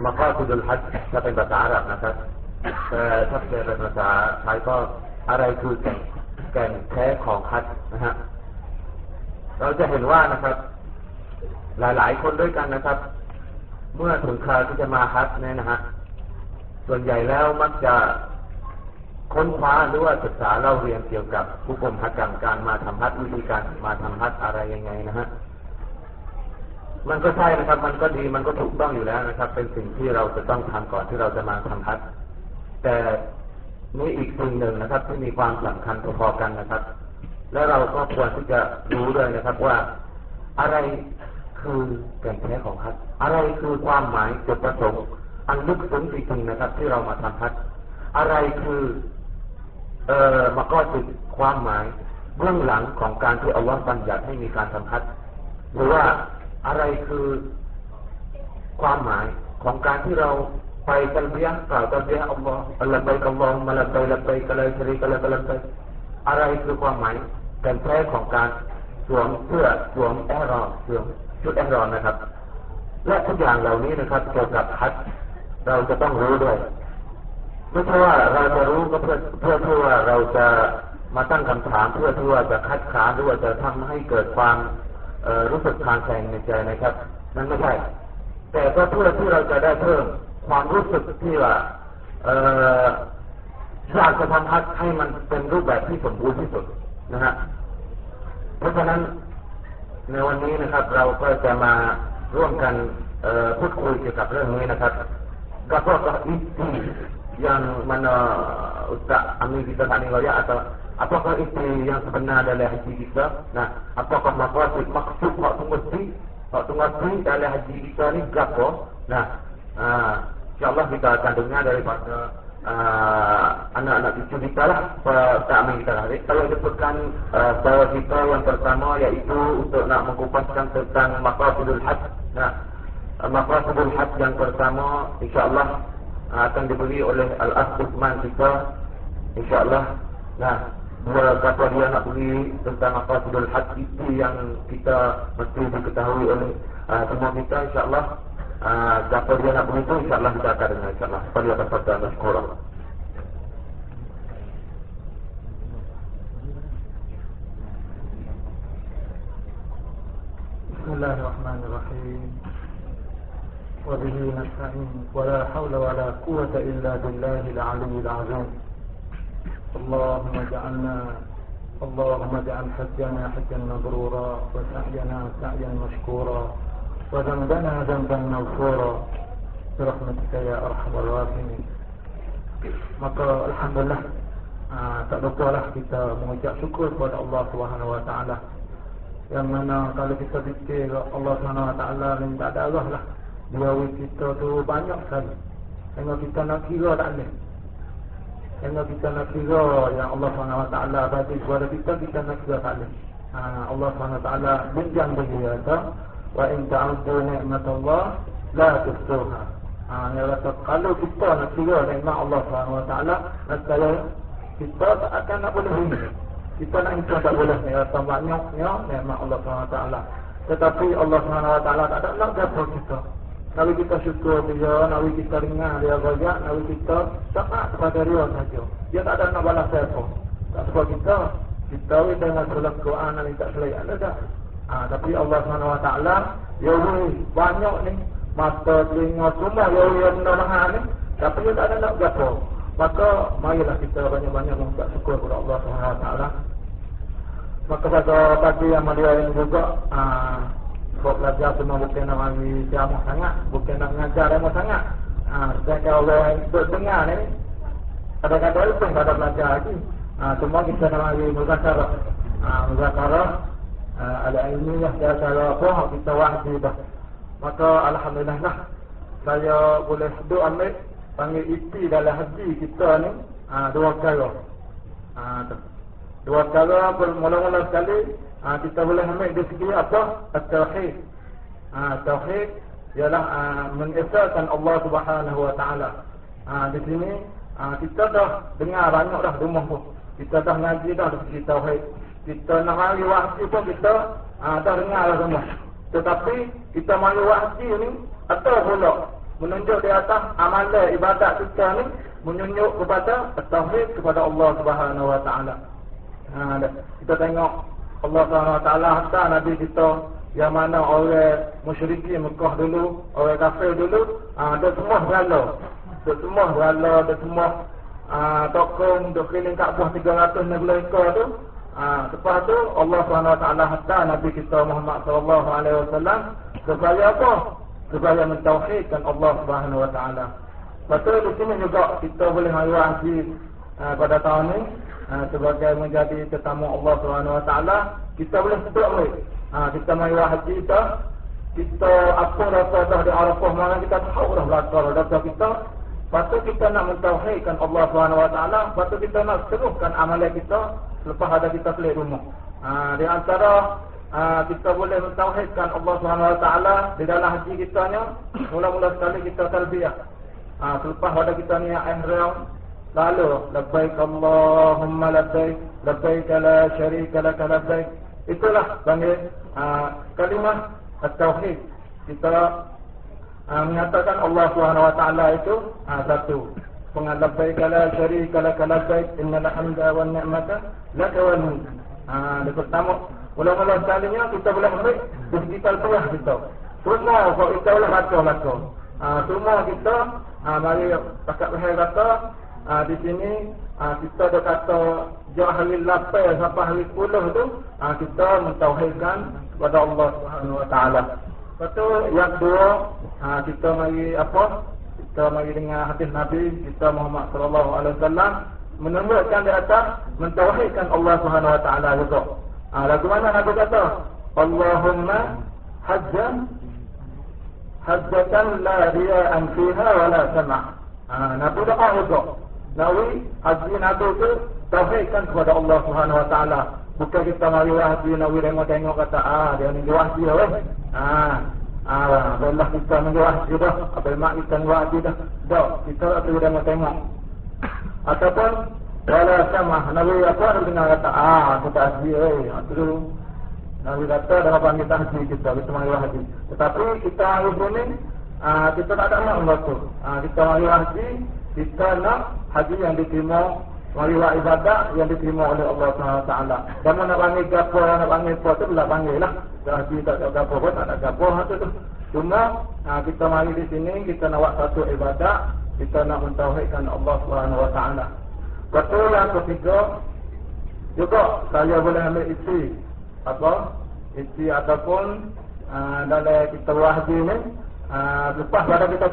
มากอซิดุลฮัจญ์ถ้าเป็นภาษาอาหรับนะครับแต่ถ้าเป็นภาษาไทยก็อะไรคือแก่นแท้ของฮัจญ์นะฮะเราจะเห็นว่านะครับหลายๆคนด้วยกันนะครับเมื่อถึงคราวที่จะมาฮัจญ์เนี่ยนะฮะส่วนใหญ่แล้วมักจะค้นคว้าหรือว่าศึกษาเล่าเรียนเกี่ยวกับผู้กรมฮัจญ์การมาทำฮัจญ์วิธีการมาทำฮัจญ์อะไรยังไงนะฮะมันก็ใช่นะครับมันก็ดีมันก็ถูกต้องอยู่แล้วนะครับเป็นสิ่งที่เราจะต้องทำก่อนที่เราจะมาทำฮัจญ์แต่นี่อีกสิ่งหนึ่งนะครับที่มีความสำคัญพอๆกันนะครับและเราก็ควรที่จะรู้ด้วยนะครับว่าอะไรคือแก่นแท้ของฮัจญ์อะไรคือความหมายจุดประสงค์อันลึกซึ้งจริงๆนะครับที่เรามาทำฮัจญ์อะไรคือมาก็จุดความหมายเบื้องหลังของการที่อัลลอฮฺบัญญัติให้มีการทำฮัจญ์หรือว่าอะไรคือความหมายของการที่เราไปตัลบียะห์กล่าวตัลบียะห์อัลลอฮฺอัลลอฮฺอัลลอฮุมะลับบัยลับบัยกะลาชะรีกะละกะลับบัยอะไรคือความหมายแก่นแท้ของการสวมเสื้อสวมอิหรอมสวมชุดอิหรอมนะครับและทุกอย่างเหล่านี้นะครับเกี่ยวกับฮัจญ์เราจะต้องรู้ด้วยไม่ใช่ว่าเราจะรู้ก็เพื่อที่ว่าเราจะมาตั้งคำถามเพื่อที่ว่าจะคัดค้านหรือว่าจะทำให้เกิดความรู้สึกทางแสงในใจนะครับนั่นไม่ใช่แต่ก็เพื่อที่เราจะได้เพิ่มความรู้สึกที่ว่าอยากจะทำฮัจญ์ให้มันเป็นรูปแบบที่สมบูรณ์ที่สุดนะฮะเพราะฉะนั้นในวันนี้นะครับเราก็จะมาร่วมกันพูดคุยเกี่ยวกับเรื่องนี้นะครับapakah itu yang mana Ustaz Amir kita tadi raya atau apakah itu yang sebenar dalam haji kita? Nah, apakah maksud waktu mesti dalam haji kita ni gapo? Nah, insyaallah kita akan dengar daripada anak-anak cucu kita lah Ustaz Amir kita tadi. Kalau sebutkan bahawa kita yang pertama iaitu untuk nak mengkupaskan tentang maqasidul hajj. Nah, maqasidul hajj yang pertama insyaallah akan diberi oleh Al-Akh Uthman kita insyaallah. Nah, dua kata dia nak beri tentang maqasidul hajj itu yang kita mesti diketahui oleh semua kita insyaallah. Kata dia nak beri itu insyaallah kita akan dengar insyaallah. Pada kesempatan masykurah. Bismillahirrahmanirrahim. وبه نستعين ولا حول ولا قوة إلا بالله العلي العظيم. اللهم اجعل حجنا حجا مبرورا وسعينا سعيا مشكورا وذنبنا ذنبا مغفورا برحمتك يا أرحم الراحمين. Maka alhamdulillah tak lupalah kita mengucap syukur kepada Allah Subhanahu wa taala. Yang mana kalau kita fikir Allah Subhanahu wa taala ni tak ada Allah lah. Dia kita tu banyak sekali. Tengok kita nak kira tak boleh. Tengok kita nak kira yang Allah SWT bagi kepada kita nak kira tak boleh. Allah SWT menjang bagi kita. Wa in ta'udhu ni'matullah la tuhsuha. Dia kata kalau kita nak kira nikmat Allah SWT, nescaya kita tak akan nak boleh ini. Kita nak hitung tak boleh. Dia kata banyaknya nikmat Allah SWT. Tetapi Allah SWT tak ada nak jatuh kita. Kalau kita syukur dia, kalau kita dengar dia rajak, kalau kita taat kepada dia saja. Dia tak ada nak balas siapa. Tak sebab kita dengan surah Quran ni tak selai ada dah. Tapi Allah SWT dia banyak ni mata telinga semua dia menolong ni, tapi dia tak ada nak gapo. Maka marilah kita banyak-banyak mengucap syukur kepada Allah SWT. Maka pada pagi yang mulia ini juga sebab belajar semua bukan nak bagi ceramah sangat, bukan nak mengajar ramah sangat. Sedangkan Allah yang dengar ni kadang-kadang pun tak ada belajar lagi. Semua kita nak bagi muzakarah. Muzakarah ada ilmiah dia cara apa kita wajib. Maka alhamdulillah lah saya boleh ambil panggil iti dalam haji kita ni dua kali. Dua kali mula-mula sekali kita boleh ambil dari segi apa? At-tauhid. Tauhid ialah mengesahkan Allah Subhanahu wa taala. Di sini kita dah dengar banyak dah rumah pun. Kita dah ngaji dah dari segi tauhid. Kita nak mari wahyi pun kita dah dengar dah semua. Tetapi kita mari wahyi ni atau pula menunjuk di atas amalan ibadat kita ni menunjuk kepada tauhid kepada Allah Subhanahu Wa Taala. Kita tengok Allah Subhanahu Wa Taala hantar Nabi kita yang mana orang musyrikin Mekah dulu, orang kafir dulu, dia semua berhala. Dia semua tokong duk keliling Kaabah 360 ekor tu. Lepas tu Allah Subhanahu Wa Taala hantar Nabi kita Muhammad sallallahu alaihi wasallam supaya apa? Supaya mentauhidkan Allah Subhanahu Wa Taala. Betul di sini juga kita boleh mari haji pada tahun ni sebagai menjadi tetamu Allah Subhanahu Wa Taala, kita boleh sebut kita mari haji kita apa rasa dah di Arafah mana kita tahu dah belakang dosa kita. Patut kita nak mentauhidkan Allah Subhanahu Wa Taala, patut kita nak teruskan amalan kita selepas ada kita balik rumah. Di antara kita boleh mentauhidkan Allah Subhanahu Wa Taala di dalam haji kita nya, mula-mula sekali kita talbiyah. Selepas ada kita niat ihram, lalu labbaik Allahumma labbaik, labbaik la syarika lak labbaik. Itulah panggil kalimah at-tauhid. Kita menyatakan Allah Subhanahu Wa Taala itu satu. Labbaik la syarika lak labbaik, innal hamda wan ni'mata lak wal mulk. Di pertama mula-mula sekalinya kita boleh ambil digital talbiyah kita. Semua kalau kita boleh baca. Semua kita mari pakat leher kata di sini kita dah kata jauh hari 8 sampai hari 10 tu kita mentauhidkan kepada Allah Subhanahu Wa Taala. Betul. Yang kedua kita mari apa? Kita mari dengar hadis Nabi kita Muhammad sallallahu alaihi wasallam menunjukkan di atas mentauhidkan Allah Subhanahu Wa Taala juga. Lagu mana Nabi kata? Allahumma hajjatan la riya'an fiha wa la sama'. Nabi doa juga. Nawi haji Nabi itu tauhidkan kepada Allah Subhanahu Wa Taala. Bukan kita mari haji Nabi tengok kata dia ni haji dah weh. Belah kita ni haji dah. Abang mak kita ni haji dah. Dah kita tu tengok. Ataupun wala sama' Nabi apa dengar kata aku tak haji tu. Nabi kata dalam panggil haji kita mari haji. Tetapi kita hari ini kita tak ada nak membantu. Kita mari haji, kita nak haji yang diterima, mari ibadat yang diterima oleh Allah Subhanahu Wa Taala. Dan nak panggil gapo, nak panggil apa tu belah panggil lah. Haji tak ada gapo pun tak ada gapo tu. Cuma kita mari di sini kita nak buat satu ibadat, kita nak mentauhidkan Allah Subhanahu Wa Taala. Betul yang ketiga juga saya boleh ambil isi isi ataupun dalam kita haji ni lepas pada kita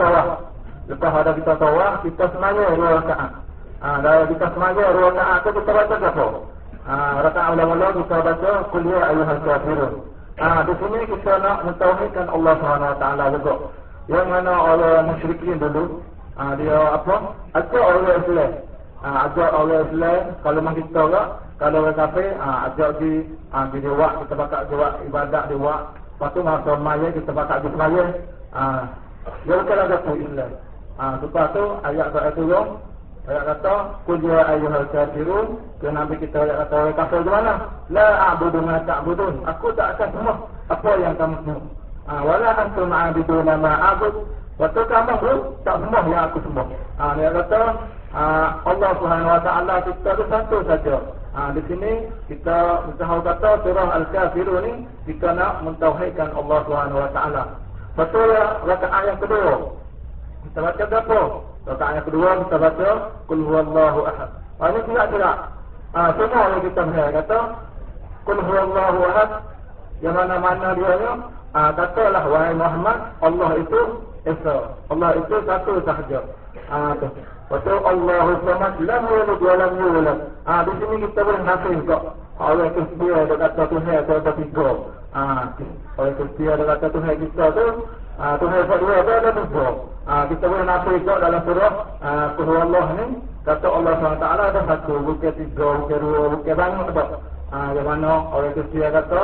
tawaf kita semaya 2 rakaat. Dalam kita semaya 2 rakaat tu kita baca apa? Rakaat mula-mula kita baca qul ya ayyuhal kafirun. Di sini kita nak mentauhidkan Allah Subhanahu Wa Taala juga. Yang mana orang musyrikin dulu dia apa? Ajak orang Islam. Ajak orang Islam kalau mak kita tak, kalau orang kafir ajak di buat kita bakal buat ibadat dia buat. Lepas tu masa maya kita bakal di semaya. Dia bukan ada tu Islam. Lepas tu ayat turun. Ayat kata qul ya ayyuhal kafirun. Dia Nabi kita ayat kata orang kafir di mana? La a'budu ma ta'budun. Aku tak akan sembah apa yang kamu sembah. Wala antum a'buduna ma a'bud. Waktu kamu pun tak sembah yang aku sembah. Dia kata Allah Subhanahu Wa Taala kita tu satu saja. Di sini kita tahu kata surah Al-Kafirun ni kita nak mentauhidkan Allah Subhanahu Wa Taala. Betul ya, rakaat yang kedua. Kita baca apa? Rakaat yang kedua kita baca qul huwallahu ahad. Ini tidak. Semua yang kita kata qul huwallahu ahad. Yang mana-mana dia nya katalah wahai Muhammad, Allah itu esa. Allah itu satu sahaja. Betul Allahu samad lam yalid wa lam yulad. Di sini kita boleh nafis kok. Orang Kristian dia kata Tuhan ada tiga. Orang Kristian dia kata Tuhan kita tu Tuhan berdua ada tiga. Kita boleh nafis kok dalam surah qul huwallah ni kata Allah SWT ada satu, bukan tiga, bukan dua, bukan banyak tak. Yang mana orang Kristian kata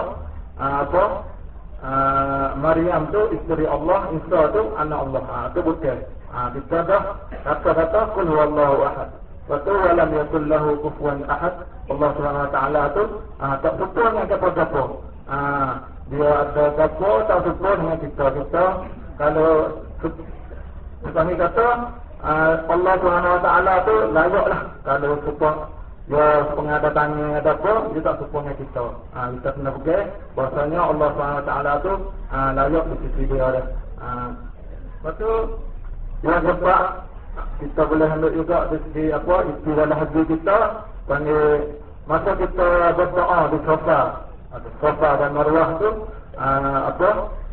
Maryam tu isteri Allah, Isa tu anak Allah. Itu bukan. Kita dah kata qul huwallahu ahad. Betul walam yakul lahu kufuwan ahad. Allah Subhanahu Wa Taala tu tak betul dengan gapo-gapo. Dia ada gapo tak betul dengan kita. Kalau Kami kata Allah Subhanahu Wa Taala tu layaklah kalau support ya pengadatannya ada apa juga supportnya kita. Kita kena pergi bahasanya Allah Subhanahu Wa Taala tu layak di sisi dia dah. Lepas tu yang sebab kita boleh ambil juga di segi apa istilah haji kita panggil masa kita berdoa di Safa dan Marwah tu apa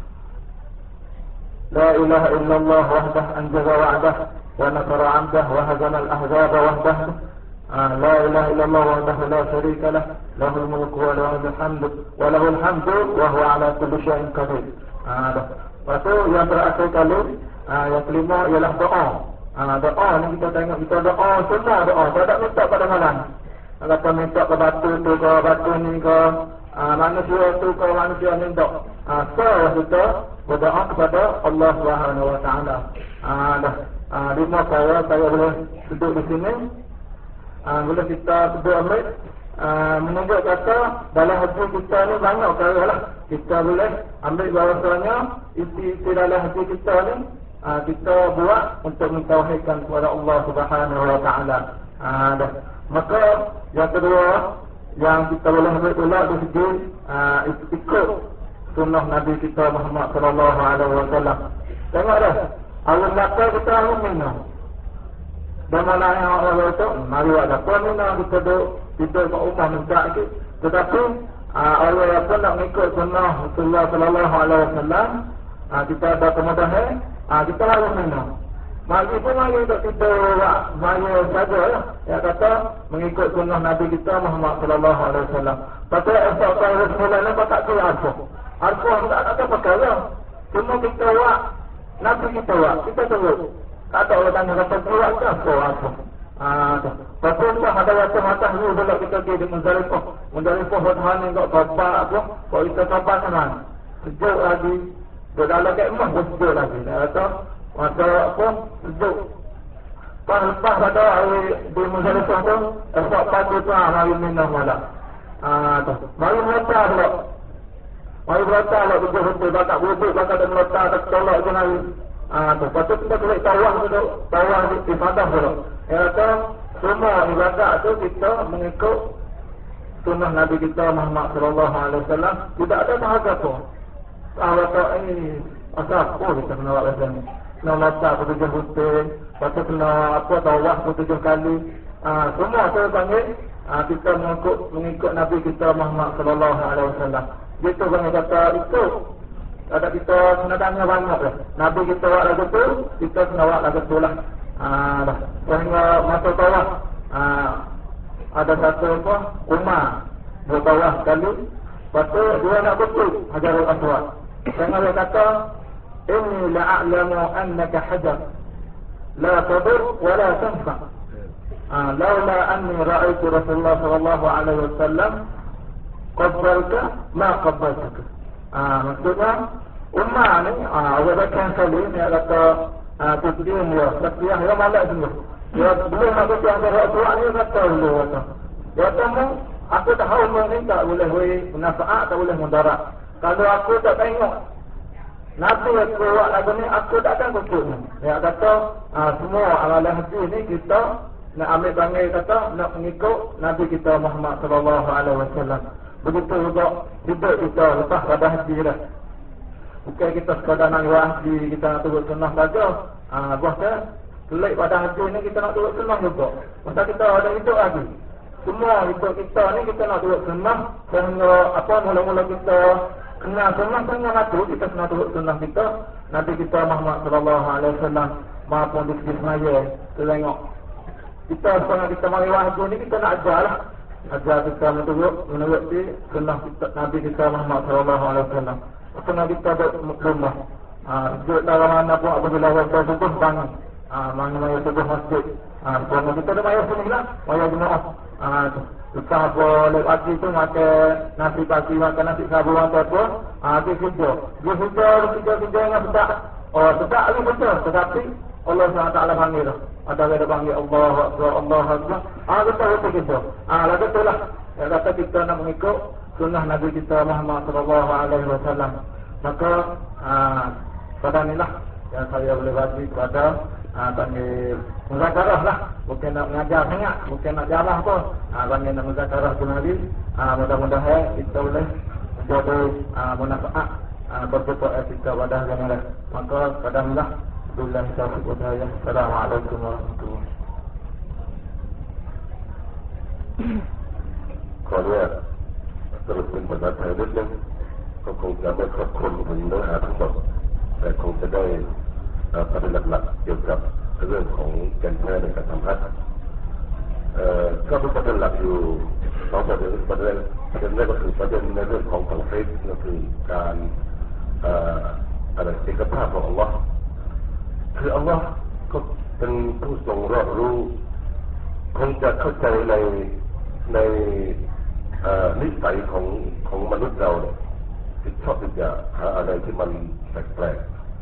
La ilaha illallah wahdah anjaza wa'dah wa nasara 'abdah wa hazama al-ahzaba wahdah. La ilaha illallah wahdahu la syarika lah lahul mulku wa lahul hamdu wa huwa 'ala kulli syai'in qadir. Lepas tu yang terakhir kali yang kelima ialah doa. Doa ni kita tengok kita doa semua doa, tak minta pada malam. Kata minta ke batu tu ke batu ni ke manusia tu ke manusia minta. So kita berdoa kepada Allah Subhanahu Wa Taala. Lima saya boleh duduk di sini. Boleh kita duduk ambil menunjuk kata dalam hati kita ni banyak perkara lah. Kita boleh ambil bahasanya isi dalam hati kita ni kita buat untuk mentauhidkan kepada Allah Subhanahu Wa Taala. Maka yang kedua yang kita boleh ambil pula di segi ikut sunnah Nabi kita Muhammad sallallahu alaihi wasallam. Tengok dah, Allah kata kita minum. Dan mana yang Allah itu mari ada minum kita duduk ke rumah minta itu. Tetapi Allah pun nak mengikut sunnah Rasulullah sallallahu alaihi wasallam. Kita ada kemudahan, kita harus minum. Mari untuk kita mari saja lah. Yang kata mengikut sunnah Nabi kita Muhammad sallallahu alaihi wasallam. Tapi esok kalau semula tak kira apa. Arfah tak ada perkara. Cuma kita buat Nabi kita buat. Kita tengok. Kata orang tanya kata buat ke apa. Lepas tu ada rasa ni bila kita pergi di Muzdalifah. Muzdalifah Tuhan ni kat kapal apa. Kalau kita kapal sana. Sejuk lagi. Berdalam kat emas sejuk lagi. Dia kata masa apa sejuk. Lepas pada di Muzdalifah tu. Esok pagi tu mari minum malam. Mari meletak pula. Mari meletak lah betul-betul. Bakal wuduk, bakal dia meletak. Tak tolak je hari. Lepas tu kita boleh tawah dulu. Tawah di fadah dulu. Dia kata semua ibadat tu kita mengikut sunnah Nabi kita Muhammad sallallahu alaihi wasallam. Tidak ada bahagia pun. Kalau tak ini asal apa kita kena buat macam ni. Kena meletak betul putih. Lepas tu kena apa tawah 7 kali. Semua tu panggil kita mengikut Nabi kita Muhammad sallallahu alaihi wasallam. Gitu bang kata itu. Ada kita kena tanya banyak dah. Nabi kita buat lagu tu, kita kena buat lagu tu lah. Dah. Sehingga masa tawaf ada satu apa? Umar bertawaf sekali. Lepas tu dia nak betul Hajarul Aswad. Sehingga dia kata inni la'alamu annaka hajar la tadur wa la tanfa. Laula anni ra'aitu Rasulullah sallallahu alaihi wasallam qabbalka ma qabbaltuka. Maksudnya Umar ni Abu Bakar sekali ni kata tujuan dia setiap dia malas dulu. Dia belum nak berjaya dengan Rasulullah ni kata dulu kata. Dia kata aku tahu ni tak boleh bermanfaat, tak boleh mudarat. Kalau aku tak tengok Nabi aku buat lagu ni aku tak akan kukut. Dia kata semua amalan hati ni kita nak ambil panggil kata nak mengikut Nabi kita Muhammad sallallahu alaihi wasallam. Begitu juga hidup kita lepas pada haji dah. Bukan kita sekadar nak buat haji, kita nak turut sunnah saja. Bahkan pelik pada haji ni kita nak turut sunnah juga. Masa kita ada hidup lagi. Semua hidup kita ni kita nak turut sunnah. Sehingga apa mula-mula kita kenal sunnah, sehingga mati kita kena turut sunnah kita. Nabi kita Muhammad sallallahu alaihi wasallam maupun di segi semaya. Kita tengok. Kita sekarang kita mari haji ni kita nak ajar lah. Ajar kita menurut sunnah Nabi kita Muhammad sallallahu alaihi wasallam. Sunnah kita berumah. Duduk dalam mana pun apabila waktu subuh bangun. Maya subuh masjid. Selama kita ada maya sini lah. Maya jemaah. Kita boleh pagi tu makan nasi pagi, makan nasi sabu atau apa. Dia kerja. Dia kerja dengan sedap. Sedap lagi betul. Tetapi Allah SWT panggil dah. Ada yang panggil Allah Akbar, Allah Akbar. Kita gitu. Lagu tu lah. Yang kata kita nak mengikut sunnah Nabi kita Muhammad sallallahu alaihi wasallam. Maka pada inilah yang saya boleh bagi kepada panggil muzakarah lah, bukan nak mengajar sangat, bukan nak jarah pun, panggil nak muzakarah tu Nabi. Mudah-mudahan kita boleh menjadi manfaat bertukar kita pada zaman. Maka kadanglah billahi taufiq wa hidayah. Assalamualaikum warahmatullahi. ขออนุญาตสรุปเป็นภาษาไทยนิดนึงก็คงจะไม่ครบคลุมถึงเนื้อหาทั้งหมดแต่คงจะได้ประเด็นหลักๆเกี่ยวกับเรื่องของแก่นแท้ในการทำฮัจญ์ก็มีประเด็นหลักอยู่สองประเด็นแรกก็คือประเด็นในเรื่องของเตาฮีดก็คือการเอกภาพของอัลลอฮ์คืออัลลอฮ์ก็เป็นผู้ทรงรอบรู้คงจะเข้าใจในนิสัยของมนุษย์เราที่ชอบที่จะหาอะไรที่มันแปลก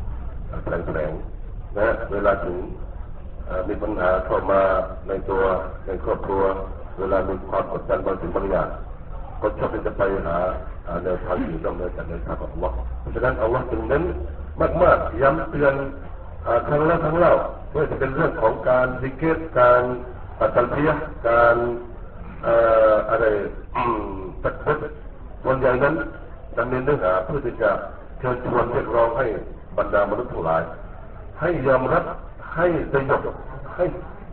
นะเวลาถึงมีปัญหาเข้ามาในครอบครัวเวลามีความกดดันบางสิ่งบางอย่างก็ชอบที่จะไปหาแนวทางอยู่นอกเหนือจากแนวทางของอัลลอฮ์เพราะฉะนั้นอัลลอฮ์จึงเน้นมากๆย้ำเตือนครั้งแล้วครั้งเล่าเพื่อจะเป็นเรื่องของการซิกเกตการตัลบียะห์การอะไรตักบิรวันใหญ่นั้นดำเนินเนื้อหาเพื่อที่จะเชิญชวนเรียกร้องให้บรรดามนุษย์ทั้งหลายให้ยอมรับให้สยบให้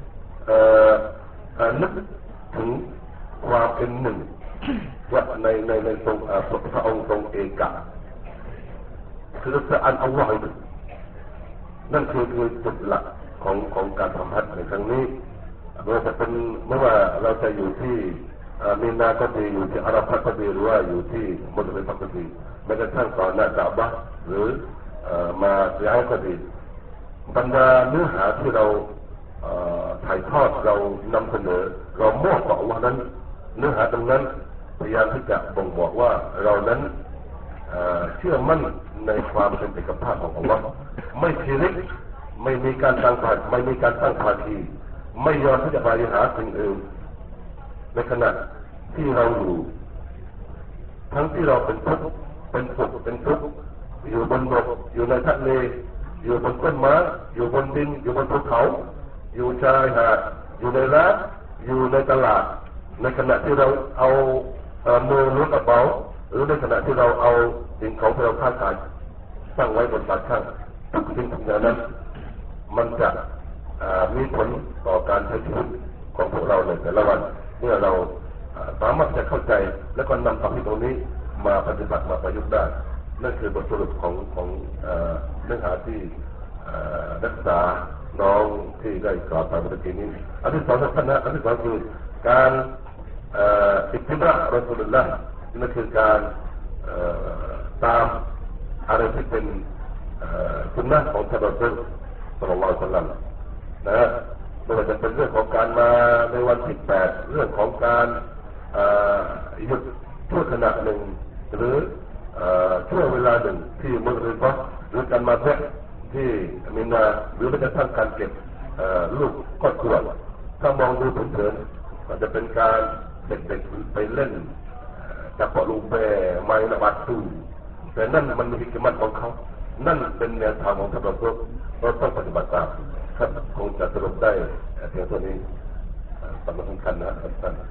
นึกถึงความเป็นหนึ่งว่าในทรงพระองค์ทรงเอกะคือพระอัลลอฮ์นั่นคือจุดหลักของการทำฮัจญ์ในครั้งนี้ไม่ว่าเราจะอยู่ที่มีนาก็ดีอยู่ที่อาราฟะก็ดีหรือว่าอยู่ที่มุสลิมก็ดีแม้กระทั่งตอนหน้ากะบะห์หรือมาย้ายก็ดีบรรดาเนื้อหาที่เราถ่ายทอดเรานำเสนอเรามอบต่ออัลเลาะห์นั้นเนื้อหาตรงนั้นพยายามที่จะบ่งบอกว่าเรานั้นเชื่อมั่นในความเป็นเอกภาพของอัลเลาะห์ไม่ชิริกไม่มีการตั้งภาคีไม่ยอมที่จะไปหาสิ่งอื่นในขณะที่เราอยู่ทั้งที่เราเป็นทุกข์เป็นสุขเป็นทุกข์อยู่บนบกอยู่ในทะเลอยู่บนต้นไม้อยู่บนดินอยู่บนภูเขาอยู่ชายหาดอยู่ในร้านอยู่ในตลาดในขณะที่เราเอามือล้วงกระเป๋าหรือในขณะที่เราเอาสิ่งของที่เราค้าขายตั้งไว้บนปากช่างทุกสิ่งทุกอย่างนั้นมันจะมีผลต่อการใช้ชีวิตของพวกเราในแต่ละวันเมื่อเราสามารถจะเข้าใจและก็นำความคิดตรงนี้มาปฏิบัติมาประยุกต์ได้นั่นคือบทสรุปของเนื้อหาที่นักศึกษาน้องที่ได้กล่าวไปเมื่อกี้นี้อันที่สองท่านนะอันที่สองคือการอิติบะรอซูลุลลอฮ์นั่นคือการตามอะไรที่เป็นสุนนะของท่านรอซูลศ็อลลัลลอฮุอะลัยฮิวะซัลลัมนะไม่ว่าจะเป็นเรื่องของการมาในวันที่8เรื่องของการหยุดชั่วขณะหนึ่งหรือช่วงเวลาหนึ่งที่มุสลิมหรือการมาแวะที่มินาหรือแม้กระทั่งการเก็บลูกครอบครัวถ้ามองดูเผินๆก็จะเป็นการเด็กๆไปเล่นจับปะลูเบไม้นวัตถุแต่นั่นมันมีกิจมันของเขานั่นเป็นแนวทางของท่านเราต้องปฏิบัติตามครับคงจะสรุปได้เพียงเท่านี้สำคัญนะท่าน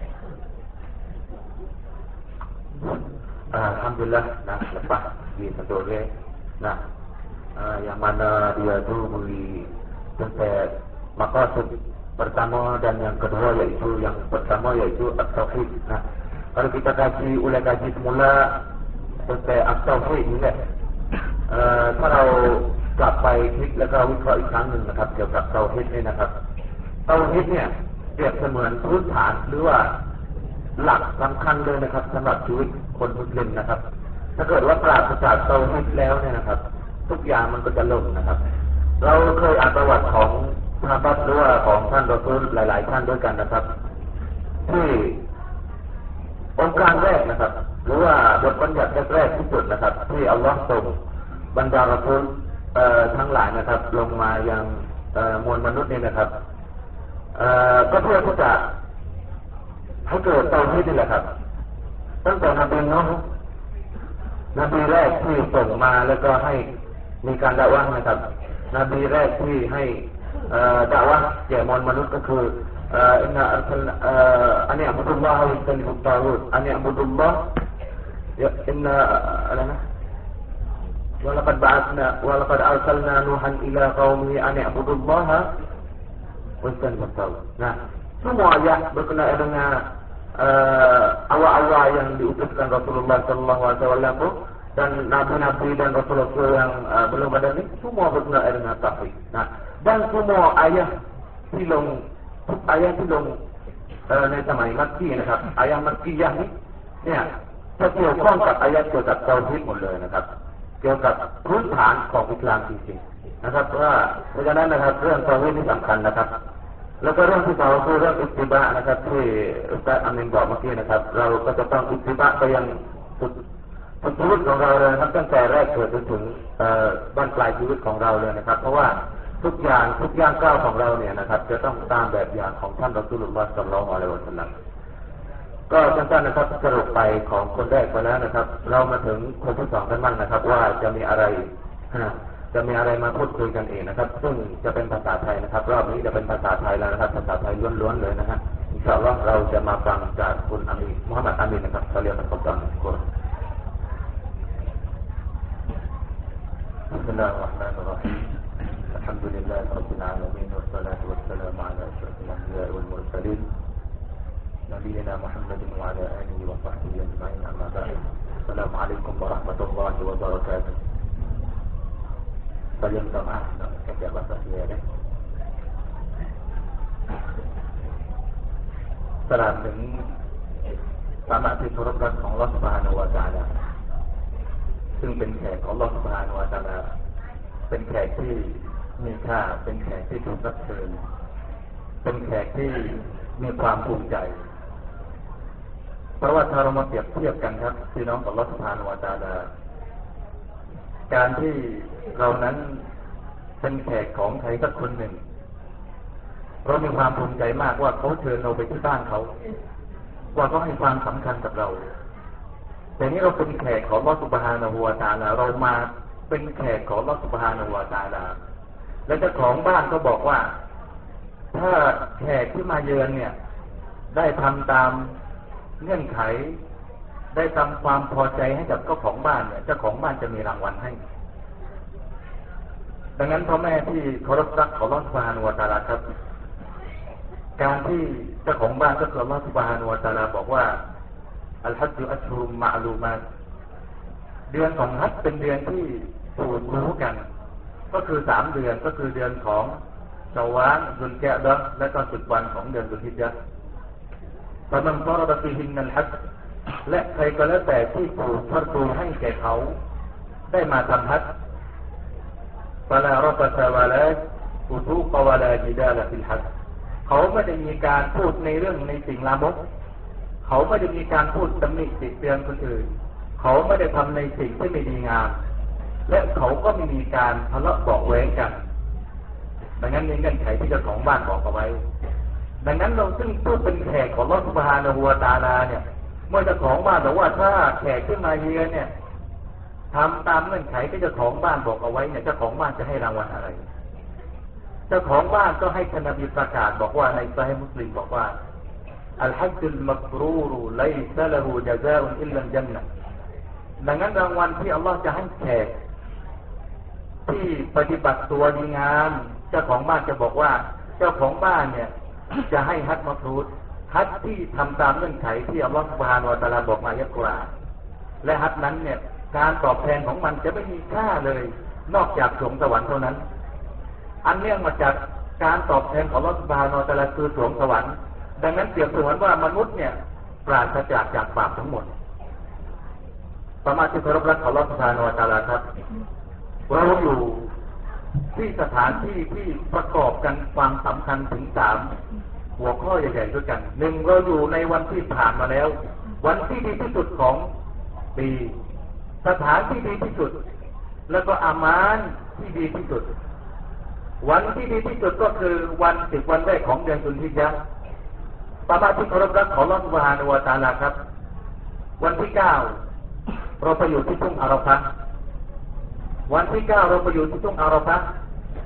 Alhamdulillah, nah lepas di satu ni, nah yang mana dia tu beri tentang maqasid pertama dan yang kedua iaitu yang pertama iaitu at-tauhid. Nah, kalau kita kaji semula tentang at-tauhid ni kan, kalau กลับไปคิดแล้วก็วิเคราะห์อีกครั้งหนึ่งนะครับเกี่ยวกับเตาฮีดนี่นะครับเตาฮีดเนี่ยเปรียบเสมือนพื้นฐานหรือว่าหลักสำคัญเลยนะครับสำหรับชีวิตคนมุสลิมนะครับถ้าเกิดว่าปราศจากเตาฮีดแล้วเนี่ยนะครับทุกอย่างมันก็จะล่มนะครับเราเคยอ่านประวัติของซอฮาบะห์หรือว่าของท่านรอซูลหลายๆท่านด้วยกันนะครับที่องค์การแรกนะครับหรือว่าบทบัญญัติแรกที่สุดนะครับที่อัลลอฮ์ส่งบรรดารอซูลทั้งหลายนะครับลงมายังมวลมนุษย์นี่นะครับก็เพื่อที่จะให้เกิดเตาฮีดนี่แหละครับตั้งแต่นบีนูห์นบีแรกที่ส่งมาแล้วก็ให้มีการดะวะห์นะครับนบีแรกที่ให้ดะวะห์แก่มนุษย์ก็คืออินนาอัลอันนี้อับดุลลอฮ์วิสันนิบุตตารูดอันนี้อับดุลลอฮ์อินนาอะไรนะولقد أرسلنا نوحا إلى قومه أن اعبدوا الله واجتنبوا الطاغوت. Nah, semua ayat berkenaan dengan awal-awal yang diutuskan Rasulullah sallallahu alaihi wasallam dan nabi-nabi dan rasul-rasul yang belum ada ni semua berkenaan dengan tauhid. Nah, dan semua ayatที่ลงในสมัยมักกีนะครับอายะห์มักกียะห์เนี่ยจะเกี่ยวข้องกับอายะห์เกี่ยวกับเตาฮีดหมดเลยนะครับเกี่ยวกับพื้นฐานของอิสลามจริงๆนะครับเพราะฉะนั้นนะครับเรื่องเตาฮีดนี่สำคัญนะครับแล้วก็เรื่องที่สองคือเรื่องอิตติบะห์นะครับที่อุสตัดอามินบอกเมื่อกี้นะครับเราก็จะต้องอิตติบะห์ไปยังสุดชีวิตของเราเลยครับตั้งแต่แรกเกิดจนถึงบ้านปลายชีวิตของเราเลยนะครับเพราะว่าทุกอย่างก้าวของเราเนี่ยนะครับจะต้องตามแบบอย่างของท่านรอซูลุลลอฮ์ ศ็อลลัลลอฮุอะลัยฮิวะซัลลัมก็สั้นๆนะครับสรุปไปของคนแรกไปแล้วนะครับเรามาถึงคนที่สองกันบ้างนะครับว่าจะมีอะไรมาพูดคุยกันเองนะครับซึ่งจะเป็นภาษาไทยนะครับรอบนี้จะเป็นภาษาไทยแล้วนะครับภาษาไทยล้วนๆเลยนะฮะอินชาอัลลอฮ์เราจะมาฟังจากคุณอามีมุฮัมมัดอามีนนะครับเขาเรียกกันก่อนคน بسم الله الرحمن الرحيم الحمد لله رب العالمين والصلاة والسلام على أشرف الأنبياء والمرسلين نبينا محمد وعلى آله وصحبه أجمعين أما بعد السلام عليكم ورحمة الله وبركاته Kalian sama kerja bahasa Indonesia. ตลอดถึงสามัคคีเคารพรักของอัลเลาะห์ซุบฮานะฮูวะตะอาลาซึ่งเป็นแขกของอัลเลาะห์ซุบฮานะฮูวะตะอาลาเป็นแขกที่มีค่าเป็นแขกที่ถูกรับเชิญเป็นแขกที่มีความภูมิใจเพราะว่าถ้าเรามาเปรียบเทียบกันครับพี่น้องของอัลเลาะห์ซุบฮานะฮูวะตะอาลาการที่เรานั้นเป็นแขกของใครสักคนหนึ่งเรามีความภูมิใจมากว่าเขาเชิญเราไปที่บ้านเขาว่าเขาให้ความสำคัญกับเราแต่นี้เราเป็นแขกของอัลเลาะห์ซุบฮานะฮูวะตะอาลาเรามาเป็นแขกของอัลเลาะห์ซุบฮานะฮูวะตะอาลาและเจ้าของบ้านก็บอกว่าถ้าแขกที่มาเยือนเนี่ยได้ทำตามเงื่อนไขได้ทำความพอใจให้กับเจ้าของบ้านเนี่ยเจ้าของบ้านจะมีรางวัลให้ดังนั้นพ่อแม่ที่เคารพรักของอัลเลาะห์ซุบฮานะฮูวะตะอาลาครับการที่เจ้าของบ้านก็คืออัลเลาะห์ซุบฮานะฮูวะตะอาลาบอกว่าอัลฮัจญุอัชฮุรุมมะอ์ลูมาตเดือนของฮัจญ์เป็นเดือนที่ถูกรู้กันก็คือ3เดือนก็คือเดือนของชาวาลซุลกะอ์ดะห์และก็10วันของเดือนซุลฮิจญะห์ฟะมันฟารฎะฟีฮินนัลฮัจญ์และใครก็แล้วแต่ที่ถูกฟัรดูให้แก่เขาได้มาทำฮัจญ์ฟะลารฟะซะวะลาฟุซูกวะลาญิดาลฟิลฮัจญ์เขาไม่ได้มีการพูดในเรื่องในสิ่งลามกเขาไม่ได้มีการพูดตำหนิติเตียนคนอื่นเขาไม่ได้ทำในสิ่งที่ไม่ดีงามและเขาก็ไม่มีการทะเลาะเบาะแว้งกันดังนั้นในเงื่อนไขที่เจ้าของบ้านบอกเอาไว้ดังนั้นเราซึ่งผู้เป็นแขกของอัลเลาะห์ซุบฮานะฮูวะตะอาลาเนี่ยเมื่อเจ้าของบ้านบอกว่าถ้าแขกขึ้นมาเยือนเนี่ยทำตามเงื่อนไขที่เจ้าของบ้านบอกเอาไว้เนี่ยเจ้าของบ้านจะให้รางวัลอะไรเจ้าของบ้านก็ให้ท่านนบีประกาศบอกว่าในซอฮีฮ์มุสลิมบอกว่าอัลฮัจญุลมับรูรไลซะละฮูญะซาอุนอิลลัลญันนะห์ดังนั้นรางวัลที่อัลเลาะห์จะให้แขกที่ปฏิบัติตัวดีงามเจ้าของบ้านจะบอกว่าเจ้าของบ้านเนี่ยจะให้ฮัจญ์มับรูรฮัจญ์ที่ทำตามเงื่อนไขที่อัลเลาะห์ซุบฮานะฮูวะตะอาลาบอกมาในอัลกุรอานและฮัจญ์นั้นเนี่ยการตอบแทนของมันจะไม่มีค่าเลยนอกจากสวงสวรรค์เท่านั้นอันเนื่องมาจากการตอบแทนของอัลเลาะห์ซุบฮานะฮูวะตะอาลาคือสวงสวรรค์ดังนั้นเปรียบเสมือนว่ามนุษย์เนี่ยปราศจากบาปทั้งหมดสมาชิกเคารพรักของอัลเลาะห์ซุบฮานะฮูวะตะอาลาครับเราอยู่ที่สถานที่ที่ประกอบกันความสำคัญถึง3หัวข้อใหญ่ๆด้วยกัน1เราอยู่ในวันที่ผ่านมาแล้ววันที่ดีที่สุดของปีสถานที่ดีที่สุดแล้วก็อามานที่ดีที่สุดวันที่ดีที่สุดก็คือวัน10วันแรกของเดือนซุลฮิจญะห์สมาชิกเคารพรักของอัลเลาะห์ซุบฮานะฮูวะตะอาลาครับวันที่9เราไปอยู่ที่ทุ่งอาราฟะห์วันที่9เราไปอยู่ที่ทุ่งอาราฟะห์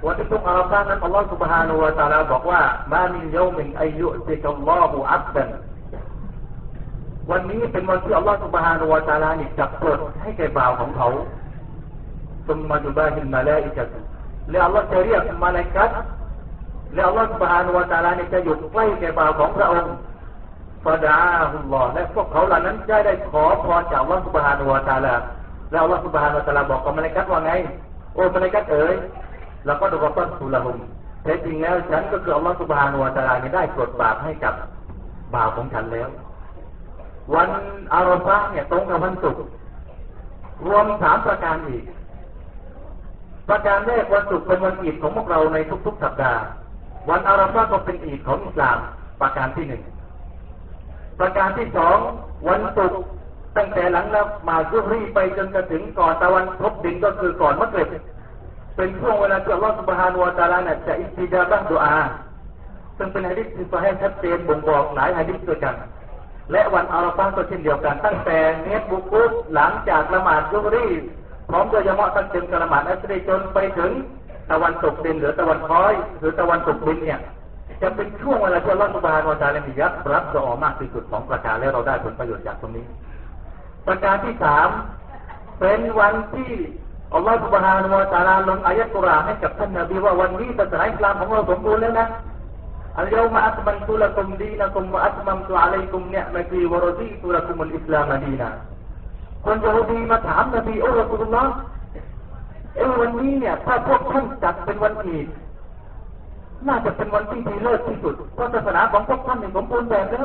วันที่ทุ่งอาราฟานั้นอัลลอฮฺ سبحانه และ تعالى บอกว่ามามินยอมินอัยยุติกัลลอฮุอับดันวันนี้เป็นวันที่อัลลอฮฺ سبحانه และ تعالى นี่จับปลดให้แก่บ่าวของเขาซุมมาจุบาฮิลมาลาอิกะตุและอัลลอฮฺจะเรียกมลาอิกะฮ์และอัลลอฮฺ سبحانه และ تعالى นี่จะอยู่ใกล้แก่บ่าวของพระองค์ฟะดาฮุลลอฮ์และพวกเขาเหล่านั้นได้ขอพรจากอัลลอฮฺ سبحانه และ تعالى แล้วอัลลอฮฺ سبحانه และ تعالى บอกกับมลาอิกะฮ์ว่าไงโอ้มลาอิกะฮ์เอ๋ยแล้วก็ดูว่าต้นสุลหุมแท้จริงแล้วฉันก็คืออัลลอฮฺ سبحانه และ تعالى นี่ได้ปลดบาปให้กับบ่าวของฉันแล้ววันอาราฟะห์เนี่ยตรงกับวันศุกร์รวม3ประการอีกประการแรกวันศุกร์เป็นวันอีดของพวกเราในทุกๆสัปดาห์วันอาราฟะห์ก็เป็นอีดของอิสลามประการที่1ประการที่2วันศุกร์ตั้งแต่หลังละหมาดซุฮรีไปจนกระถึงก่อนตะวันตกดินก็คือก่อนมักริบเป็นช่วงเวลาที่อัลลอฮฺ سبحانه และ تعالى เนี่ยจะอิสติญาบะห์ดุอาซึ่งเป็นหะดีษที่ซอฮีฮ์ชัดเจนบ่งบอกหลายหะดีษด้วยกันและวันอาราฟะห์ก็เช่นเดียวกันตั้งแต่เนียตบุกุฟหลังจากละหมาดซุฮรีพร้อมด้วยญะมาอะห์ตั้งแต่ละหมาดอัสรีจนไปถึงตะวันตกดินหรือตะวันคอยหรือตะวันตกดินเนี่ยจะเป็นช่วงเวลาที่อัลลอฮฺ سبحانه และ تعالى มีรับดุอามากที่สุดของประการและเราได้ผลประโยชน์จากตรงนี้ประการที่3เป็นวันที่อัลลอฮฺ سبحانه และ تعالى ลงอายะห์กุรอานให้กับท่านนบีว่าวันนี้ศาสนาอิสลามของเราสมบูรณ์แล้วนะอัลยอมะอัตมันตุละกุมดีนะกุมวะอัตมัมตุอะลัยกุมนิอ์มะตีวะรฎีตุละกุมุลอิสลามดีนะคนยิวดีมาถามนบีโอ้รอซูลุลลอฮ์วันนี้เนี่ยถ้าพวกท่านจัดเป็นวันอีดน่าจะเป็นวันที่ดีเลิศที่สุดเพราะศาสนาของพวกท่านสมบูรณ์แบบแล้ว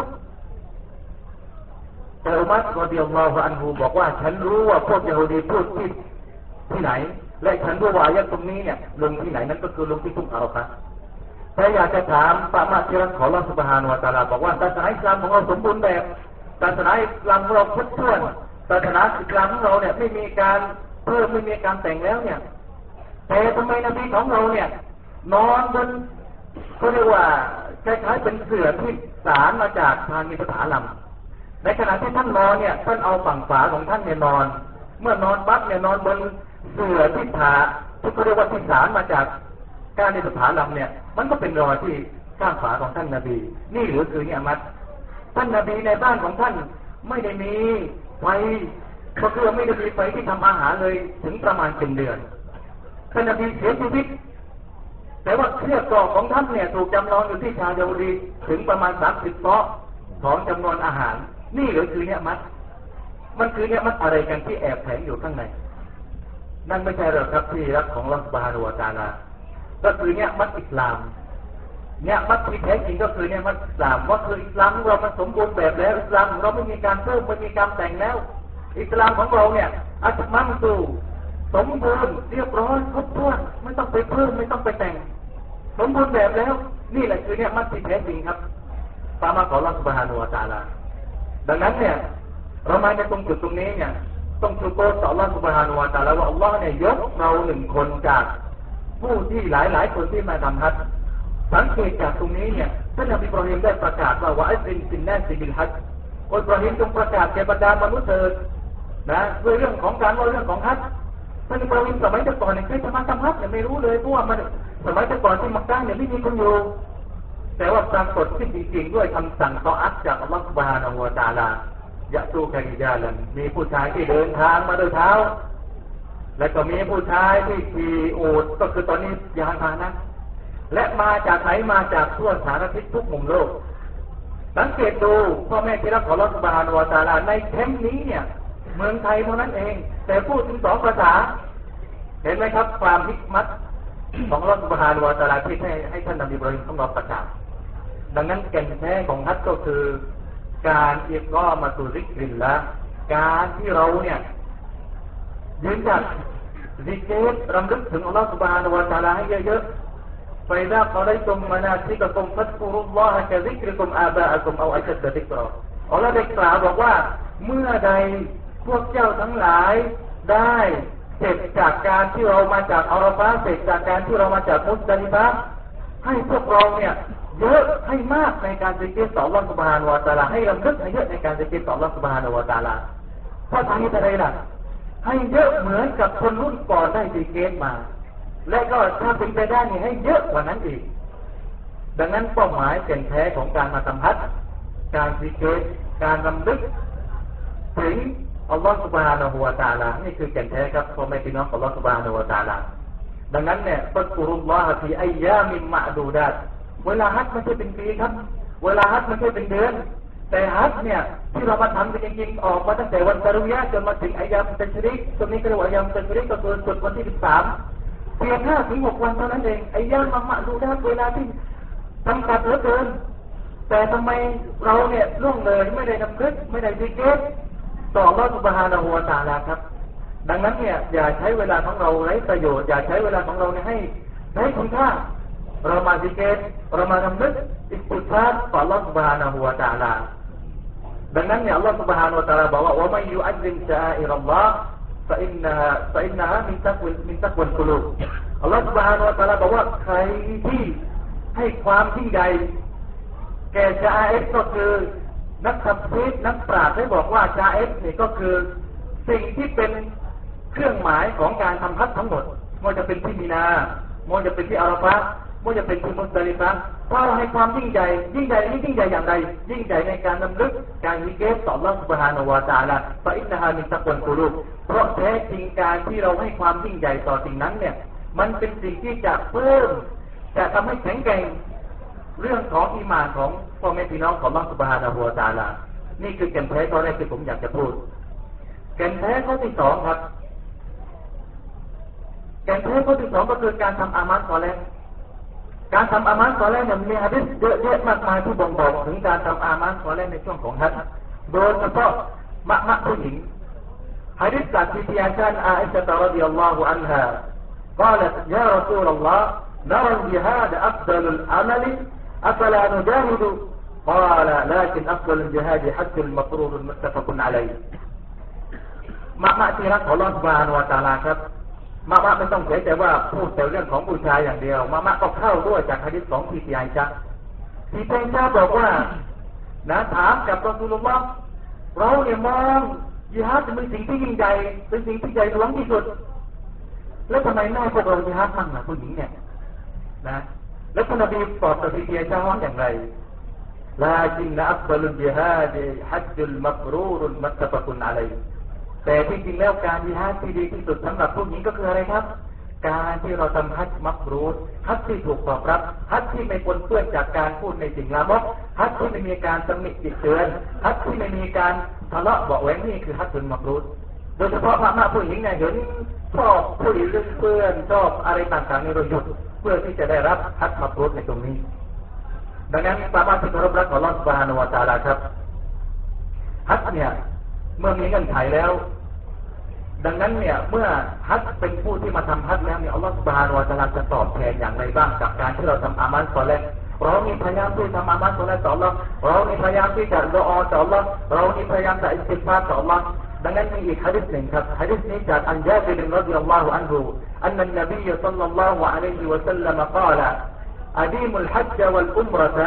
แต่อุมัรรอฎิยัลลอฮุอันฮุบอกว่าฉันรู้ว่าพวกยิวดีพูดที่ไหนและฉันรู้ว่าอายะห์ตรงนี้เนี่ยลงที่ไหนนั้นก็คือลงที่ทุ่งอาราฟะห์แต่อยากจะถามปะมาที่รักของอัลเลาะห์ซุบฮานะฮูวะตะอาลาบอกว่าศาสนาอิสลามของเราสมบูรณ์แบบศาสนาอิสลามของเราครบถ้วนศาสนาอิสลามของเราเนี่ยไม่มีการเพิ่มไม่มีการแต่งแล้วเนี่ยแต่ทำไมนบีของเราเนี่ยนอนบนเขาเรียกว่าคล้ายๆเป็นเสื่อที่สารมาจากทางอิสลามในขณะที่ท่านนอนเนี่ยท่านเอาฝั่งฝาของท่านเนี่ยนอนเมื่อนอนปั๊บเนี่ยนอนบนเสื่อที่ผ่าที่เขาเรียกว่าที่สารมาจากการในสถานลำเนี่ยมันก็เป็นรอยที่ข้างฝาของท่านนบีนี่หรือคือเนี่ยมัดท่านนบีในบ้านของท่านไม่ได้มีไฟก็คือไม่ได้มีไฟที่ทำอาหารเลยถึงประมาณ1 เดือนท่านนบีเสียชีวิตแต่ว่าเครื่องกรอกของท่านเนี่ยถูกจำลองอยู่ที่ชาวยิวดีถึงประมาณ30 เตาะของจำนวนอาหารนี่หรือคือเนี่ยมัดมันคือเนี่ยมัดอะไรกันที่แอบแฝงอยู่ข้างในนั่นไม่ใช่หรอกครับที่รักของอัลเลาะห์ซุบฮานะฮูวะตะอาลาก็คือเนี่ยมัดอิสลามเนี่ยมัดที่แท้จริงก็คือเนี่ยมัดอิสลามว่าคืออิสลามของเรามันสมบูรณ์แบบแล้วอิสลามของเราไม่มีการเพิ่มไม่มีการแต่งแล้วอิสลามของเราเนี่ยอัตมัมตุสมบูรณ์เรียบร้อยครบถ้วนไม่ต้องไปเพิ่มไม่ต้องไปแต่งสมบูรณ์แบบแล้วนี่แหละคือเนี่ยมัดที่แท้จริงครับตามมาของอัลเลาะห์ซุบฮานะฮูวะตะอาลาดังนั้นเนี่ยเรามาในตรงจุดตรงนี้เนี่ยต้องชูโกรต่ออัลเลาะห์ซุบฮานะฮูวะตะอาลาว่าอัลเลาะห์เนี่ยยกเรา1 คนจากผู้ที่หลายคนที่มาทำฮัจญ์สังเกตจากตรงนี้เนี่ยท่านนบีอิบราฮิมได้ประกาศว่าอัซรินฟินนาสบิลฮัจญ์อิบราฮิมจงประกาศแก่บรรดามนุษย์เถิดนะด้วยเรื่องของการว่าเรื่องของฮัจญ์ท่านอิบราฮิมสมัยก่อนเนี่ยใครจะมาทำฮัจญ์เนี่ยไม่รู้เลยเพราะว่ามันสมัยก่อนที่มักกะฮ์เนี่ยไม่มีคนอยู่แต่ว่าปรากฏขึ้นจริงๆด้วยคำสั่งตออัตจากอัลเลาะห์ซุบฮานะฮูวะตะอาลายะตูกะริญาลันมีผู้ชายที่เดินทางมาด้วยเท้าและก็มีผู้ชายที่ขี่อูฐก็คือตอนนี้ยานพาหนะและมาจากไหนมาจากทั่วสารทิศทุกมุมโลกสังเกตดูพ่อแม่ที่รักของอัลเลาะห์ซุบฮานะฮูวะตะอาลาในแคมป์นี้เนี่ยเมืองไทยเท่านั้นเองแต่พูดถึง2 ภาษาเห็นไหมครับความฮิกมัตของอัลเลาะห์ซุบฮานะฮูวะตะอาลาที่ให้ท่านนบีอิบราฮิมของเราประกาศดังนั้นแก่นแท้ของฮัจญ์ก็คือการอิกอมะตุซิกริลละการที่เราเนี่ยยืนจัดซิกรรำลึกถึงอัลเลาะห์ซุบฮานะฮูวะตะอาลาให้เยอะๆفإذا قضيتم مناسككم فاذكروا الله كذكركم آباءكم أو أشد ذكراอัลเลาะห์ได้กล่าวบอกว่าเมื่อใดพวกเจ้าทั้งหลายได้เสร็จจากการที่เรามาจากอาราฟะห์เสร็จจากการที่เรามาจากมุซดะลิฟะห์ให้พวกเราเนี่ยเยอะให้มากในการซิกรต่ออัลเลาะห์ซุบฮานะฮูวะตะอาลาให้รำลึกให้เยอะในการซิกรต่ออัลเลาะห์ซุบฮานะฮูวะตะอาลาเพราะทางนี้อะไรล่ะให้เยอะเหมือนกับคนรุ่นก่อนได้ซิกรมาและก็ถ้าเป็นไปได้นี่ให้เยอะกว่านั้นอีกดังนั้นเป้าหมายแก่นแท้ของการมาสัมผัสการซิกเกตการรำลึกถึงอัลลอฮฺซุบฮานะฮูวะตะอาลานี่คือแก่นแท้ครับพ่อแม่พี่น้องของอัลลอฮฺซุบฮานะฮูวะตะอาลาดังนั้นเนี่ยฟัซกุรุลลอฮะฟีอัยยามินมะอ์ดูดาตเวลาฮัจญ์ไม่ใช่เป็นปีครับเวลาฮัจญ์ไม่ใช่เป็นเดือนแต่ฮัจญ์เนี่ยที่เรามาทำกันจริงๆออกมาตั้งแต่วันตะรุยะห์จนมาถึงอัยยามตัชริกตรงนี้ก็เรียกว่าอัยยามตัชริกก็คือสุดวันที่13เพียง5 ถึง 6 วันเท่านั้นเองอัยยามมะอ์ดูดาตเวลาที่จำกัดเหลือเกินแต่ทำไมเราเนี่ยล่วงเลยไม่ได้นำลึกไม่ได้ซิกเกตต่ออัลเลาะห์ซุบฮานะฮูวะตะอาลาครับดังนั้นเนี่ยอย่าใช้เวลาของเราไร้ประโยชน์อย่าใช้เวลาของเราเนี่ยให้คุณค่าเรามาซิกเกตเรามานำลึกอิสติฆฟารต่ออัลเลาะห์ซุบฮานะฮูวะตะอาลาดังนั้นเนี่ยอัลเลาะห์ซุบฮานะฮูวะตะอาลาบอกว่าวะมัยยุอัซซิมชะอาอิรัลลอฮ์فإنها من تقوى القلوب อัลเลาะห์ซุบฮานะฮูวะตะอาลาบอกว่าใครที่ให้ความยิ่งใหญ่แก่ชาเอฟก็คือนักทัฟซีรนักปราชญ์ได้บอกว่าชาเอฟนี่ก็คือสิ่งที่เป็นเครื่องหมายของการทำฮัจญ์ทั้งหมดไม่ว่าจะเป็นที่มีนาไม่ว่าจะเป็นที่อาราฟะห์ไม่ว่าจะเป็นที่มุซดะลิฟะห์ถ้าเราให้ความยิ่งใหญ่นี่ยิ่งใหญ่อย่างไรยิ่งใหญ่ในการนำลึกการซิกเกตต่ออัลเลาะห์ซุบฮานะฮูวะตะอาลาฟะอินนะฮามินตักวัลกุลูบเพราะแท้จริงการที่เราให้ความยิ่งใหญ่ต่อสิ่งนั้นเนี่ยมันเป็นสิ่งที่จะเพิ่มจะทำให้แข็งแกร่งเรื่องของอีหม่านของพ่อแม่พี่น้องของอัลเลาะห์ซุบฮานะฮูวะตะอาลานี่คือแก่นแท้ข้อแรกที่ผมอยากจะพูดแก่นแท้ข้อที่2ครับแก่นแท้ข้อที่2ก็คือการทำอามัลศอลิฮ์การทำอามัลศอลิฮ์เนี่ยมีหะดีษเยอะแยะมากมายที่บ่งบอกถึงการทำอามัลศอลิฮ์ในช่วงของฮัจญ์โดยเฉพาะมะผู้หญิงหะดีษจากที่อาจารย์อาอิชะฮ์รอฎิยัลลอฮุอันฮา قالت يا رسول الله نرى الجهاد أفضل العمل أفلا نجاهد قال لكن أفضل الجهاد حج المفروض متفق عليه มะที่รักของอัลเลาะห์ซุบฮานะฮูวะตะอาลาครับมะไม่ต้องเสียใจว่าพูดแต่เรื่องของผู้ชายอย่างเดียวมะก็เข้าด้วยจากหะดีษของที่อาอิชะห์ที่อาอิชะห์บอกว่านะถามกับรอซูลุลลอฮ์เราเนี่ยมองญิฮาดเป็นสิ่งที่ยิ่งใหญ่เป็นสิ่งที่ใหญ่หลวงที่สุดแล้วทำไมแม่พวกเราญิฮาดมั่งล่ะผู้หญิงเนี่ยนะแล้วท่านนบีตอบกับที่อาอิชะห์ว่าอย่างไรลาจินอัฟฎอลุลญิฮาดฮัจญุลมับรูรุลมุตตะฟะกุนอะลัยฮิแต่จริงๆแล้วการญิฮาดที่ดีที่สุดสำหรับผู้หญิงก็คืออะไรครับการที่เราทำฮัจญ์มับรูรฮัจญ์ที่ถูกตอบรับฮัจญ์ที่ไม่ปนเปื้อนจากการพูดในสิ่งลามกฮัจญ์ที่ไม่มีการตำหนิติเตือนฮัจญ์ที่ไม่มีการทะเลาะเบาะแว้งนี่คือฮัจญ์มับรูรโดยเฉพาะพระผู้หญิงเนี่ยเห็นชอบคุยเรื่องเพื่อนชอบอะไรต่างๆในเราหยุดเพื่อที่จะได้รับฮัจญ์มับรูรในตรงนี้ดังนั้นสามารถที่จะรับของอัลเลาะห์ซุบฮานะฮูวะตะอาลาครับฮัจญ์เนี่ยเมื่อมีเงื่อนไขแล้วดังนั้นเนี่ยเมื่อฮัจญ์เป็นผู้ที่มาทำฮัจญ์แล้วเนี่ยอัลเลาะห์ซุบฮานะฮูวะตะอาลาจะตอบแทนอย่างไรบ้างกับการที่เราทำอามัลศอลิฮ์เรามีพยายามที่ทำอามัลศอลิฮ์ต่ออัลเลาะห์เรามีพยายามที่จะดุอาต่ออัลเลาะห์เรามีพยายามจะอิสติฆฟารต่ออัลเลาะห์ดังนั้นมีอีกหะดีษหนึ่งครับหะดีษนี้จากอันญาบิรรอฎิยัลลอฮุอันฮุอันนันนบีศ็อลลัลลอฮุอะลัยฮิวะซัลลัมกล่าวأديم الحج والعمرة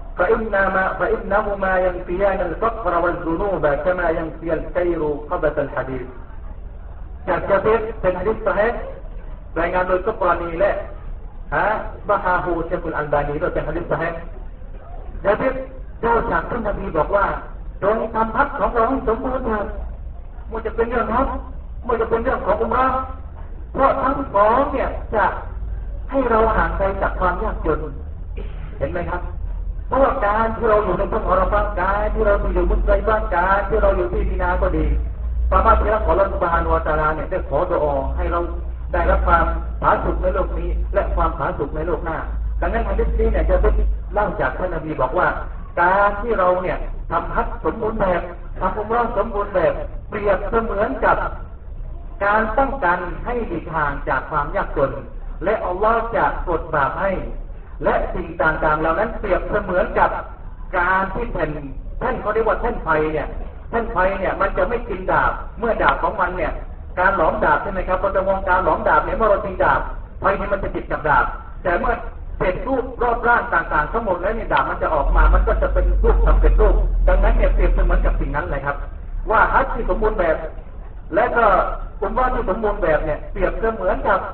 فإنهما ينفيان الفقر والذنوب كما ينفي الكير خبث الحديد จากจะเป็นหะดีษซอฮีฮ์รายงานโดยกับบานีและบะฮาฮูเชคุลอัลบานีโดยเป็นหะดีษซอฮีฮ์ญาบิรเจ้าจากท่านนบีบอกว่าจงทำฮัจญ์ของเราให้สมบูรณ์เถิดไม่ว่าจะเป็นเรื่องฮัจญ์ไม่ว่าจะเป็นเรื่องของอุมเราะห์เพราะทั้งสองเนี่ยจะให้เราห่างไกลจากความยากจนเห็นไหมครับเพราะว่าการที่เราอยู่ในทุ่งอาราฟะห์การที่เราอยู่มุซดะลิฟะห์การที่เราอยู่ที่มีนาก็ดีสามารถที่จะขออัลเลาะห์ซุบฮานะฮูวะตะอาลาเนี่ยได้ขอดุอาให้เราได้รับความผาสุกในโลกนี้และความผาสุกในโลกหน้าดังนั้นหะดีษนี้เนี่ยจะเป็นเล่าจากท่านนบีบอกว่าการที่เราเนี่ยทำฮัจญ์สมบูรณ์แบบทำอุมเราะห์สมบูรณ์แบบเปรียบเสมือนกับการป้องกันให้หลีกห่างจากความยากจนและอัลลอฮ์จะปลดบาปให้และสิ่งต่างๆเหล่านั้นเปรียบเสมือนกับการที่แท่นเขาเรียกว่าแท่นไฟเนี่ยแท่นไฟเนี่ยมันจะไม่กินดาบเมื่อดาบของมันเนี่ยการหลอมดาบใช่ไหมครับพอจะมองการหลอมดาบเนี่ยเมื่อเราตีดาบไฟนี่มันจะติดกับดาบแต่เมื่อเสร็จรูปรอบร่างต่างๆทั้งหมดแล้วเนี่ยดาบมันจะออกมามันก็จะเป็นรูปทำเป็นรูปดังนั้นเนี่ยเปรียบเสมือนกับสิ่งนั้นเลยครับว่าฮัจญ์ที่สมบูรณ์แบบและก็อุมเราะห์ที่สมบูรณ์แบบเนี่ยเปรียบเสมือนกับ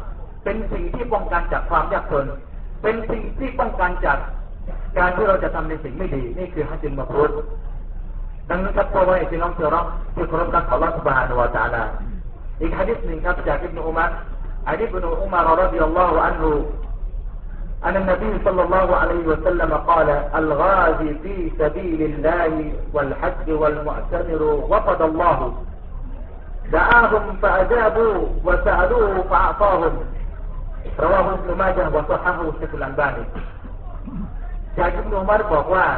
เป็นสิ่งที่ป้องกันจากความยากจนเป็นสิ่งที่ป้องกันจากการที่เราจะทำในสิ่งไม่ดีนี่คือฮัจญุลมับรูรดังนั้นครับพ่อแม่พี่น้องที่รักที่เคารพรักอัลลอฮฺซุบฮานะฮูวะตะอาลาอีกหะดีษหนึ่งครับจากอิบนุอุมัรรดิยัลลอฮุอันฮุأن النبي صلى الله عليه وسلم قال الغازي في سبيل الله والحج والمعتمر وفد الله دعاهم فأجابوا وسألوه فأعطاهم رواه ابن ماجه وصححه الشيخ الألباني จากอิบนุอุมัรบอกว่า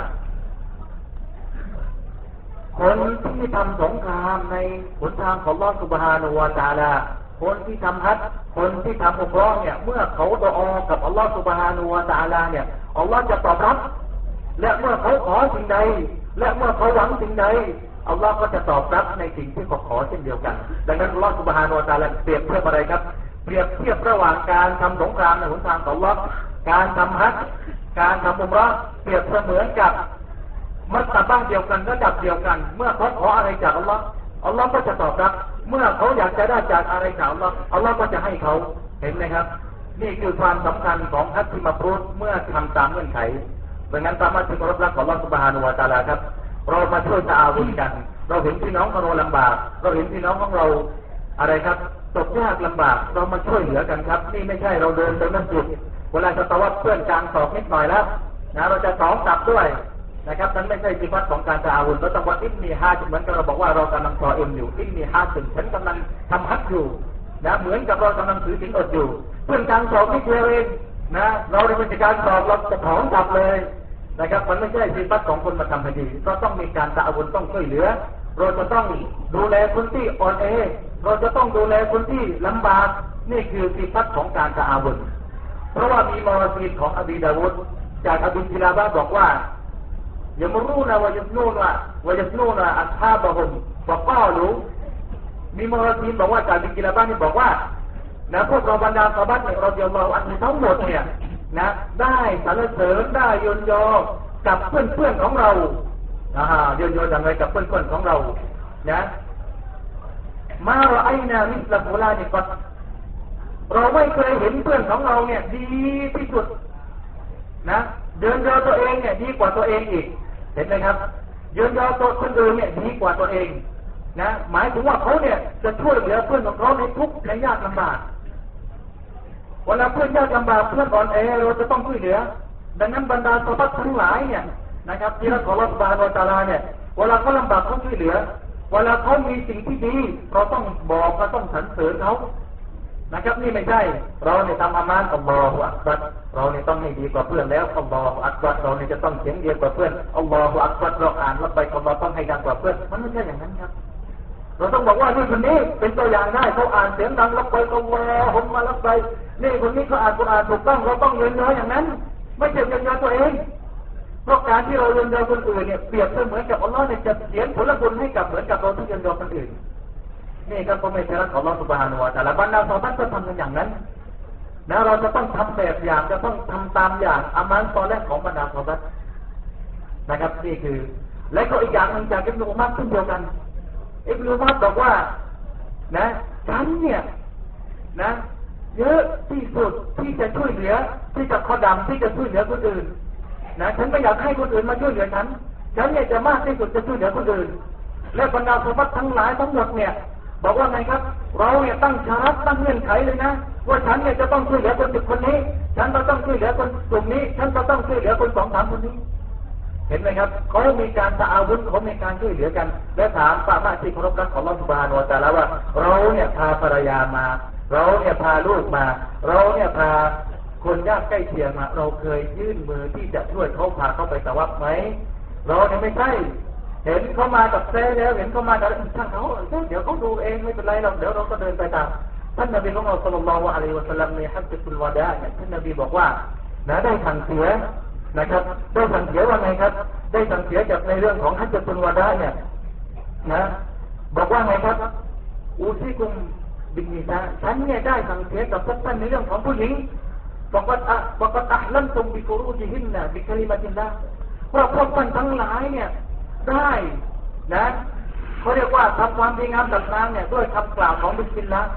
คนที่ทำสงครามในหนทางของอัลเลาะห์ซุบฮานะฮูวะตะอาลาคนที่ทำฮัจญ์คนที่ทำอุมเราะห์เนี่ยเมื่อเขาดุอากับอัลเลาะห์ซุบฮานะฮูวะตะอาลาเนี่ยอัลเลาะห์จะตอบรับและเมื่อเขาขอสิ่งใดและเมื่อเขาหวังสิ่งใดอัลเลาะห์ก็จะตอบรับในสิ่งที่เขาขอเช่นเดียวกันดังนั้นอัลเลาะห์ซุบฮานะฮูวะตะอาลาเปรียบเทียบอะไรครับเปรียบเทียบระหว่างการทำสงครามในหนทางของอัลเลาะห์การทำฮัจญ์การทำอุมเราะห์เปรียบเสมือนกับมัตตะบ้างเดียวกันระดับเดียวกันเมื่อเขาขออะไรจากอัลเลาะห์อัลเลาะห์ก็จะตอบรับเมื่อเขาอยากจะได้จากอะไรจากอัลเลาะห์อัลเลาะห์ก็จะให้เขาเห็นไหมครับนี่คือความสำคัญของฮัจญ์มับรูรเมื่อทำตามเงื่อนไขดังนั้นตามมาที่เคารพรักของอัลเลาะห์ซุบฮานะฮูวะตะอาลาครับเรามาช่วยตะอาวุธกันเราเห็นพี่น้องของเราลำบากเราเห็นพี่น้องของเราอะไรครับตกยากลำบากเรามาช่วยเหลือกันครับนี่ไม่ใช่เราเดินไปมัสยิดเวลาจะตะวัดเพื่อนกลางศอกนิดหน่อยแล้วนะเราจะสองกลับด้วยนะครับนั้นไม่ใช่สิฟัตของการตะอาวุธเราต้องว่าอินนีฮาจเหมือนกับเราบอกว่าเรากำลังซออิมอยู่อินนีฮาจฉันกำลังทำฮัจญ์อยู่นะเหมือนกับเรากำลังถือศีลอดอยู่เพื่อนกลางศอกนิดเดียวเองนะเราในเป็นการสอบเราจะถอนกลับเลยนะครับมันไม่ใช่สิฟัตของคนมาทำคดีเราต้องมีการตะอาวุธต้องช่วยเหลือเราจะต้องดูแลคนที่อ่อนแอเราจะต้องดูแลคนที่ลำบากนี่คือสิฟัตของการตะอาวุธเพราะว่ามีมารซีของอบีดาวุฒจากอบีกิลาบะบอกว่ายมรูนะวะยัสนูนะอัศฮาบะฮุมวะกาลูมีมารซีบอกว่าจากอบีกิลาบะนี่บอกว่านะพวกเราบรรดาซอฮาบะห์เนี่ยรอฎิยัลลอฮุอันฮุทั้งหมดเนี่ยนะได้สรรเสริญได้ยนยอกับเพื่อนๆของเรายนยออย่างไรกับเพื่อนๆของเรานะมาเราไอนามิสลาฟูลานี่ก็เราไม่เคยเห็นเพื่อนของเราเนี่ยดีที่สุดนะเดินยอตัวเองเนี่ยดีกว่าตัวเองอีกเห็นไหมครับเดินยอตัวคนอื่นเนี่ยดีกว่าตัวเองนะหมายถึงว่าเขาเนี่ยจะช่วยเหลือเพื่อนของเขาในทุกข์ในยากลำบากเวลาเพื่อนยากลำบากเพื่อนอ่อนแอเราจะต้องช่วยเหลือดังนั้นบรรดาซอฮาบะห์ทั้งหลายเนี่ยนะครับที่รักของอัลเลาะห์ซุบฮานะฮูวะตะอาลาเนี่ยเวลาเขาลำบากเขาช่วยเหลือเวลาเขามีสิ่งที่ดีเราต้องบอกเราต้องสรรเสริญเขานะครับนี่ไม่ใช่เราเนี่ยทำอามานอัลลอฮฺอักบัรเราเนี่ยต้องให้ดีกว่าเพื่อนแล้วอัลลอฮฺอักบัรเราเนี่ยจะต้องเสียงเดียวกว่าเพื่อนอัลลอฮฺอักบัรเราอ่านแล้วไปอัลลอฮฺต้องให้ดังกว่าเพื่อนมันไม่ใช่อย่างนั้นครับเราต้องบอกว่านี่คนนี้เป็นตัวอย่างได้เขาอ่านเสียงดังแล้วไปอัลลอฮฺมาแล้วไปนี่คนนี้เขาอ่านกุรอานถูกต้องเราต้องเรียนรู้อย่างนั้นไม่ใช่เรียนรู้ตัวเองเพราะการที่เราเรียนรู้คนอื่นเนี่ยเปรียบเสมือนกับอัลลอฮฺเนี่ยจะเสียผลบุญให้กับเหมือนกับเราที่เรียนรู้คนอื่นนี่ก็ไม่ใช่รักของอัลเลาะห์ซุบฮานะฮูวะตะอาลาบรรดาซอฮาบะห์ก็ทำกันอย่างนั้นนะเราจะต้องทำแบบอย่างจะต้องทำตามอย่างอามัลซอลิฮ์ของบรรดาซอฮาบะห์นะครับนี่คือและก็อีกอย่างหนึ่งจากอิบนุอุมัรเช่นเดียวกันอิบนุอุมัรบอกว่านะฉันเนี่ยนะเยอะที่สุดที่จะช่วยเหลือที่จะขอดำที่จะช่วยเหลือคนอื่นนะฉันไม่อยากให้คนอื่นมาช่วยเหลือฉันเนี่ยจะมากที่สุดจะช่วยเหลือคนอื่นและบรรดาซอฮาบะห์ทั้งหลายทั้งหมดเนี่ยบอกว่าไงครับเราเนี่ยตั้งชารัตตั้งเงื่อนไขเลยนะว่าฉันเนี่ยจะต้องช่วยเหลือคนนี้ฉันก็ต้องช่วยเหลือคนกลุ่มนี้ฉันก็ต้องช่วยเหลือคน2-3คนนี้เห็นไหมครับเขามีการตะอาวุธเขามีการช่วยเหลือกันและถามป้ามาที่เคารพรักของอัลเลาะห์ซุบฮานะฮูวะตะอาลาว่าเราเนี่ยพาภรรยามาเราเนี่ยพาลูกมาเราเนี่ยพาคนยากใกล้เคียงมาเราเคยยื่นมือที่จะช่วยเขาพาเขาไปตะวับไหมเราเนี่ยไม่ใช่เห็นเขามากับเซ่แล้วเห็นเขามาแล้วช่างเขาเดี๋ยวเขาดูเองไม่เป็นไรเราเดี๋ยวเราก็เดินไปตามท่านนบีของเราศ็อลลัลลอฮุอะลัยฮิวะซัลลัมในฮัจญุลวะดาเนี่ยท่านนบีบอกว่านะได้สั่งเสียนะครับได้สั่งเสียว่าไงครับได้สั่งเสียจากในเรื่องของฮัจญุลวะดาเนี่ยนะบอกว่าไงครับอูซิกุมบินนิซาฉันเนี่ยได้สั่งเสียกับพวกท่านในเรื่องของผู้หญิงบอกว่าอัลลัมตุมบิฟุรูจิฮินนะบิคลิมะติลลาห์ว่าพวกท่านทั้งหลายเนี่ยได้นะเขาเรียกว่าทำความดีงามต่างๆเนี่ยด้วยคำกล่าวของบิสมิลลาห์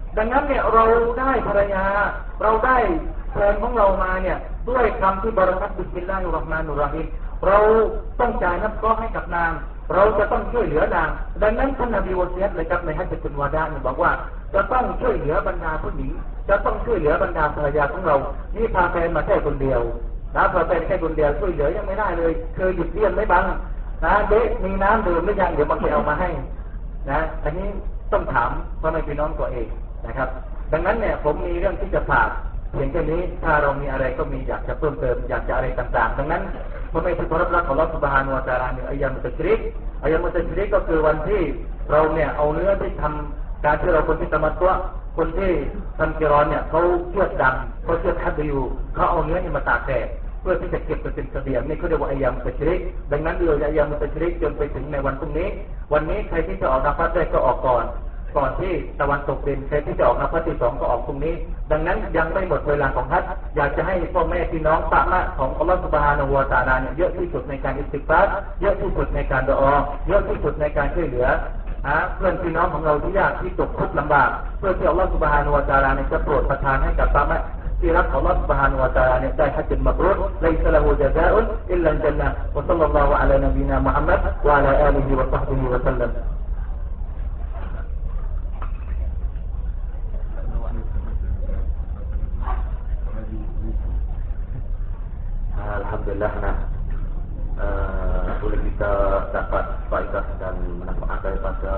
ดังนั้นเนี่ยเราได้ภรรยาเราได้แฟนของเรามาเนี่ยด้วยคำที่บริษัทบิสมิลลาฮิรเราะห์มานุรเราะฮีมเราต้องจ่ายนับก้อให้กับนางเราจะต้องช่วยเหลือนางดังนั้นท่านนบีวะซียะห์เลยครับในฮัจญะตุลวาดาเนี่ยบอกว่าจะต้องช่วยเหลือบรรดาผู้หญิงจะต้องช่วยเหลือบรรดาภรรยาของเรานี่พาแฟนมาแค่คนเดียวนะพาแฟนแค่คนเดียวช่วยเหลือยังไม่ได้เลยเคยหยุดเลี้ยงไม่บังนะเด็กมีน้ำดื่มหรือยังเดี๋ยวมันจะเอามาให้นะอันนี้ต้องถามพ่อแม่พี่น้องตัวเองนะครับดังนั้นเนี่ยผมมีเรื่องที่จะฝากเพียงแค่นี้ถ้าเรามีอะไรก็มีอยากจะเพิ่มเติมอยากจะอะไรต่างๆดังนั้นพ่อแม่ที่เคารพรักของอัลเลาะห์ซุบฮานะฮูวะตะอาลาเนี่ยอัยยามุตตัชริกอัยยามุตตัชริกก็คือวันที่เราเนี่ยเอาเนื้อที่ทำการที่เราคนที่ตะมัตตัวคนที่ทำกิรอนเนี่ยเขาเชือดดำเขาเชือดฮัดยูเขาเอาเนื้อนี่มาตากแดดเพื่อที่จะเก็บเป็นเสบียงนี่เขาเรียกว่าอัยยามุตตัชริกดังนั้นเราจะอัยยามุตตัชริกจนไปถึงในวันพรุ่งนี้วันนี้ใครที่จะออกนับฟัดได้ก็ออกก่อนที่ตะวันตกดินใครที่จะออกนับฟัดที่2ก็ออกพรุ่งนี้ดังนั้นยังไม่หมดเวลาของฮัจญ์อยากจะให้พ่อแม่พี่น้องปะมะของอัลเลาะห์ซุบฮานะฮูวะตะอาลาเนี่ยเยอะที่สุดในการอิสติฆฟารเยอะที่สุดในการดุอาเยอะที่สุดในการช่วยเหลือเพื่อนพี่น้องของเราที่ยากที่ตกทุกข์ลำบากเพื่อที่อัลเลาะห์ซุบฮานะฮูวะตะอาลาเนี่ยจะโปรดประทานให้กับปะมะที่รักของอัลเลาะห์ซุบฮานะฮูวะตะอาลาเนี่ยได้ฮัจญ์มับรูรไลซะละฮูญะซาอุนอิลลัลญันนะฮ์วะศ็อลลัลลอฮุอะลานบีนามุฮัมมัดวะอะลาอาลิฮิวะศอฮบิฮิวะซัลลัม Alhamdulillah boleh kita dapat faedah dan manfaat daripada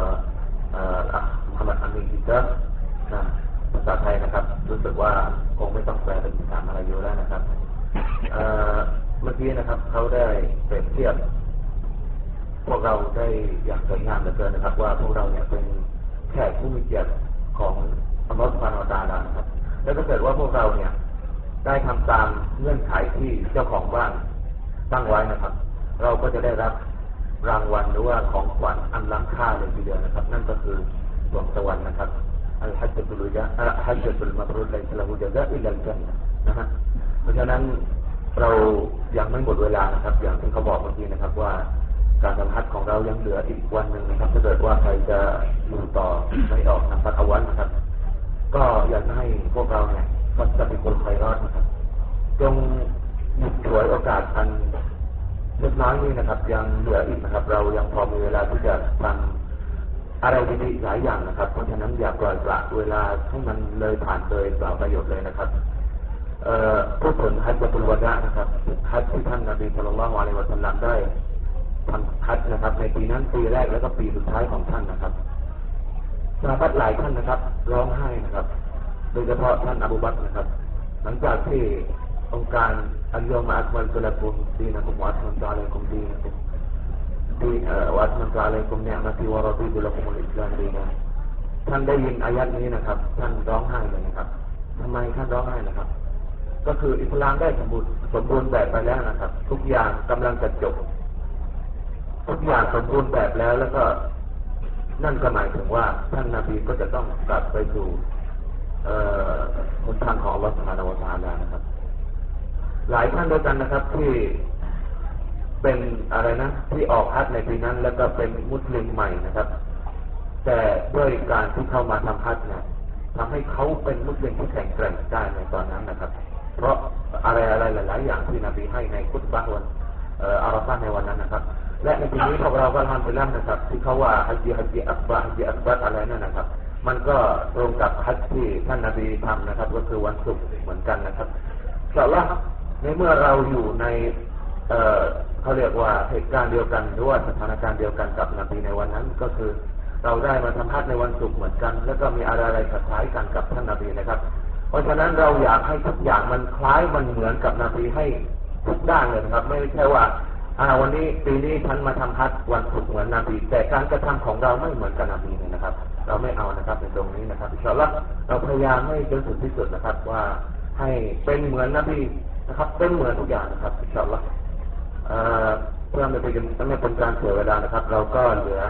Muhammad Amin kita. Nah, ภาษาไทยนะครับรู้สึกว่าคงไม่ต้องแปลเป็นภาษามาลายูแล้วนะครับเมื่อกี้นะครับเขาได้เปรียบเทียบพวกเราได้อย่างสวยงามเหลือเกินนะครับว่าพวกเราเนี่ยเป็นแขกผู้มีเกียรติของอัลเลาะห์ซุบฮานะฮูวะตะอาลานะครับแล้วถ้าเกิดว่าพวกเราเนี่ยได้ทำตามเงื่อนไขที่เจ้าของบ้านตั้งไว้นะครับเราก็จะได้รับรางวัลหรือว่าของขวัญอันล้ำค่าเลยทีเดียวนะครับนั่นก็คือดวงสวรรค์นะครับอัลฮัจญะตุลมับรูรไลซะละฮูญะซาอิลลัลญันนะฮ์นะฮะเพราะฉะนั้นเรายังไม่หมดเวลานะครับอย่างที่เขาบอกเมื่อกี้นะครับว่าการทำฮัจญ์ของเรายังเหลืออีกวันหนึ่งนะครับถ้าเกิดว่าใครจะอยู่ต่อไม่ออกนะครับเอาวันนะครับก็อยากให้พวกเราเนี่ยก็จะเป็นคนไฟรอดนะครับจงหยิบฉวยโอกาสอันเล็กน้อยนี้นะครับยังเหลืออีกนะครับเรายังพอมีเวลาที่จะทำอะไรดีๆหลายอย่างนะครับเพราะฉะนั้นอย่าปล่อยปละเวลาให้มันเลยผ่านเลยเปล่าประโยชน์เลยนะครับพูดถึงฮัจญะตุลวะดะนะครับฮัจญ์ที่ท่านนบีศ็อลลัลลอฮุอะลัยฮิวะซัลลัมได้ทำฮัจญ์นะครับในปีนั้นปีแรกแล้วก็ปีสุดท้ายของท่านนะครับซอฮาบะห์หลายท่านนะครับร้องไห้นะครับโดยเฉพาะท่านอบูบักรนะครับหลังจากที่องค์การอัลยอมะอักมัลตุละกุมดีนะกุมวะอัตมัมตุอะลัยกุมดีนะกุมวะอัตมัมตุอะลัยกุมนิอ์มะตีวะรอฎีตุละกุมุลอิสลามดีนะท่านได้ยินอายัดนี้นะครับท่านร้องไห้เลยนะครับทำไมท่านร้องไห้นะครับก็คืออิสลามได้สมบูรณ์แบบไปแล้วนะครับทุกอย่างกำลังจะจบทุกอย่างสมบูรณ์แบบแล้วก็นั่นก็หมายถึงว่าท่านนบีก็จะต้องกลับไปสู่หนทางของอัลเลาะห์ซุบฮานะฮูวะตะอาลานะครับหลายท่านด้วยกันนะครับที่เป็นอะไรนะที่ออกฮัจญ์ในปีนั้นแล้วก็เป็นมุสลิมใหม่นะครับแต่ด้วยการที่เข้ามาทำฮัจญ์เนี่ยทำให้เขาเป็นมุสลิมที่แข็งแกร่งได้ในตอนนั้นนะครับเพราะอะไรหลายๆอย่างที่นบีให้ในคุตบะห์วันอาราฟะห์ในวันนั้นนะครับและในปีนี้พวกเราก็อัลฮัมดุลิลละห์นะครับที่เขาว่าฮัจญ์อักบัรอะไรนั่นนะครับมันก็ตรงกับฮัจญ์ที่ท่านนบีทำนะครับก็คือวันศุกร์เหมือนกันนะครับอินชาอัลเลาะห์ในเมื่อเราอยู่ในเขาเรียกว่าเหตุการณ์เดียวกันหรือว่าสถานการณ์เดียวกันกับนบีในวันนั้นก็คือเราได้มาทำฮัจญ์ในวันศุกร์เหมือนกันแล้วก็มีอะไรคล้ายกันกับท่านนบีนะครับเพราะฉะนั้นเราอยากให้ทุกอย่างมันคล้ายมันเหมือนกับนบีให้ทุกด้านเลยนะครับไม่ใช่ว่าวันนี้ปีนี้ฉันมาทำฮัจญ์วันศุกร์เหมือนนบีแต่การกระทำของเราไม่เหมือนกับนบีเลยนะครับเราไม่เอานะครับในตรงนี้นะครับอินชาอัลเลาะห์เราพยายามให้จนสุดที่สุดนะครับว่าให้เป็นเหมือนนบีนะครับเป็นเหมือนทุกอย่างนะครับอินชาอัลเลาะห์เพื่อไม่เป็นการเสียเวลานะครับเราก็เหลือ